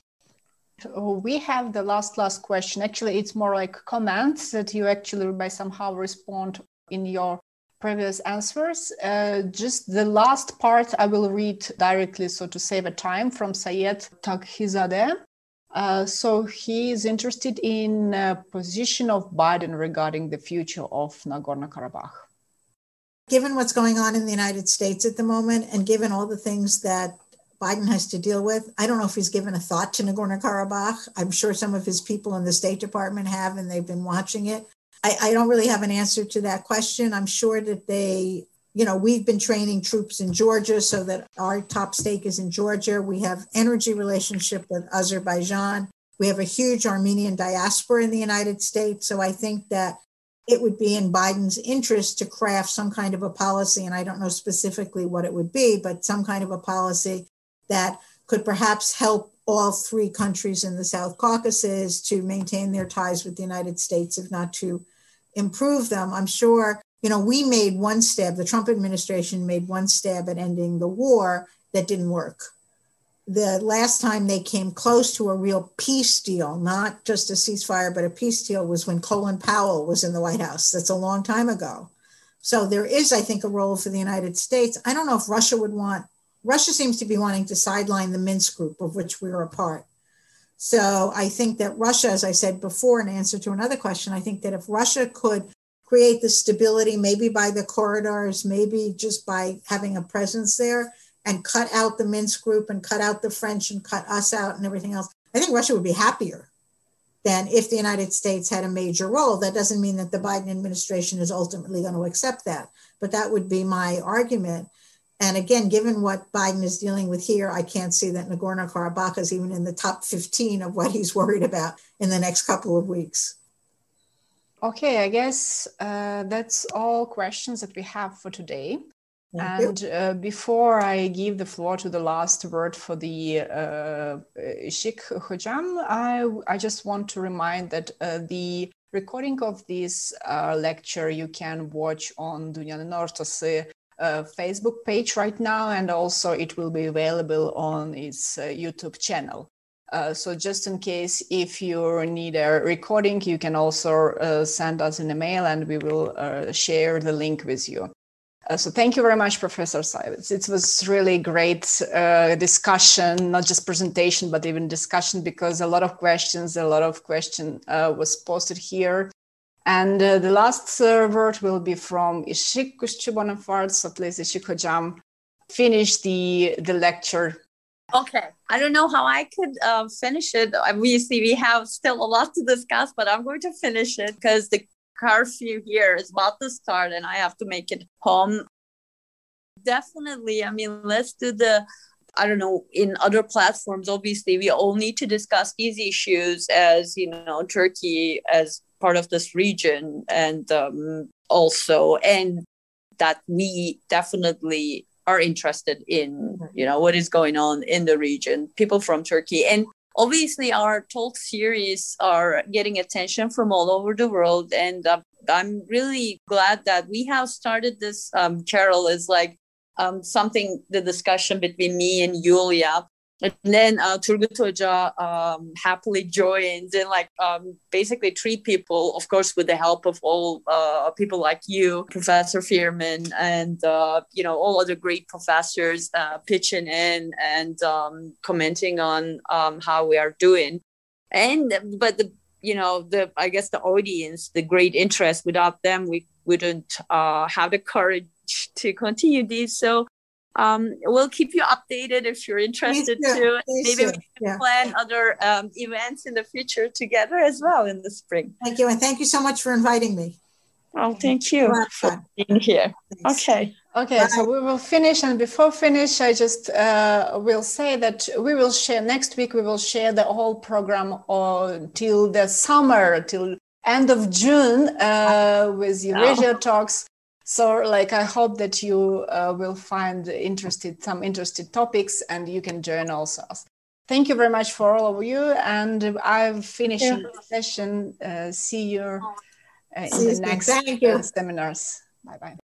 So we have the last, last question. Actually, it's more like comments that you actually by somehow respond in your previous answers. Uh, just the last part I will read directly, so to save a time, from Sayed Taghizadeh. Uh, so he is interested in uh, position of Biden regarding the future of Nagorno-Karabakh. Given what's going on in the United States at the moment, and given all the things that Biden has to deal with, I don't know if he's given a thought to Nagorno-Karabakh. I'm sure some of his people in the State Department have, and they've been watching it. I, I don't really have an answer to that question. I'm sure that they, you know, we've been training troops in Georgia so that our top stake is in Georgia. We have energy relationship with Azerbaijan. We have a huge Armenian diaspora in the United States. So I think that it would be in Biden's interest to craft some kind of a policy, and I don't know specifically what it would be, but some kind of a policy that could perhaps help all three countries in the South Caucasus to maintain their ties with the United States, if not to improve them. I'm sure, you know, we made one stab, the Trump administration made one stab at ending the war that didn't work. the last time they came close to a real peace deal, not just a ceasefire, but a peace deal, was when Colin Powell was in the White House. That's a long time ago. So there is, I think, a role for the United States. I don't know if Russia would want, Russia seems to be wanting to sideline the Minsk group, of which we are a part. So I think that Russia, as I said before, in answer to another question, I think that if Russia could create the stability, maybe by the corridors, maybe just by having a presence there, and cut out the Minsk group and cut out the French and cut us out and everything else, I think Russia would be happier than if the United States had a major role. That doesn't mean that the Biden administration is ultimately going to accept that, but that would be my argument. And again, given what Biden is dealing with here, I can't see that Nagorno-Karabakh is even in the top fifteen of what he's worried about in the next couple of weeks. Okay, I guess uh, that's all questions that we have for today. Thank and uh, before I give the floor to the last word for the uh, Işık Hocam, I, I just want to remind that uh, the recording of this uh, lecture you can watch on Dünyanın Ortası uh, Facebook page right now, and also it will be available on its uh, YouTube channel. Uh, so just in case if you need a recording, you can also uh, send us an email and we will uh, share the link with you. Uh, so thank you very much, Professor Sayvetz. It was really great uh, discussion, not just presentation, but even discussion, because a lot of questions, a lot of question uh, was posted here. And uh, the last uh, word will be from Işık Kuşçu-Bonaparte. So please, Işık Hocam, finish the, the lecture. Okay, I don't know how I could uh, finish it. Obviously, we have still a lot to discuss, but I'm going to finish it because the curfew here is about to start and I have to make it home. Definitely, I mean, let's do the, I don't know, in other platforms, obviously, we all need to discuss these issues as, you know, Turkey as part of this region, and um, also, and that we definitely are interested in, you know, what is going on in the region, people from Turkey. And obviously, our talk series are getting attention from all over the world. And uh, I'm really glad that we have started this. Um, Carol, is like um, something, the discussion between me and Yulia. And then uh, Turgut Hoca um, happily joins, and like um, basically three people, of course, with the help of all uh, people like you, Professor Firman, and uh, you know, all other great professors uh, pitching in and um, commenting on um, how we are doing. And but the you know the I guess the audience, the great interest. Without them, we wouldn't uh, have the courage to continue these. So. Um, we'll keep you updated if you're interested too. Maybe we can yeah. plan other um, events in the future together as well in the spring. Thank you. And thank you so much for inviting me. Oh, thank you for being here. Thanks. Okay. Okay, Bye. So we will finish. And before finish, I just uh, will say that we will share next week. We will share the whole program uh, till the summer, till end of June uh, with Eurasia oh. Talks. So, like, I hope that you uh, will find interested some interested topics, and you can join also. Thank you very much for all of you, and I'm finishing yeah. the session. Uh, see you uh, in see the next uh, seminars. Bye bye.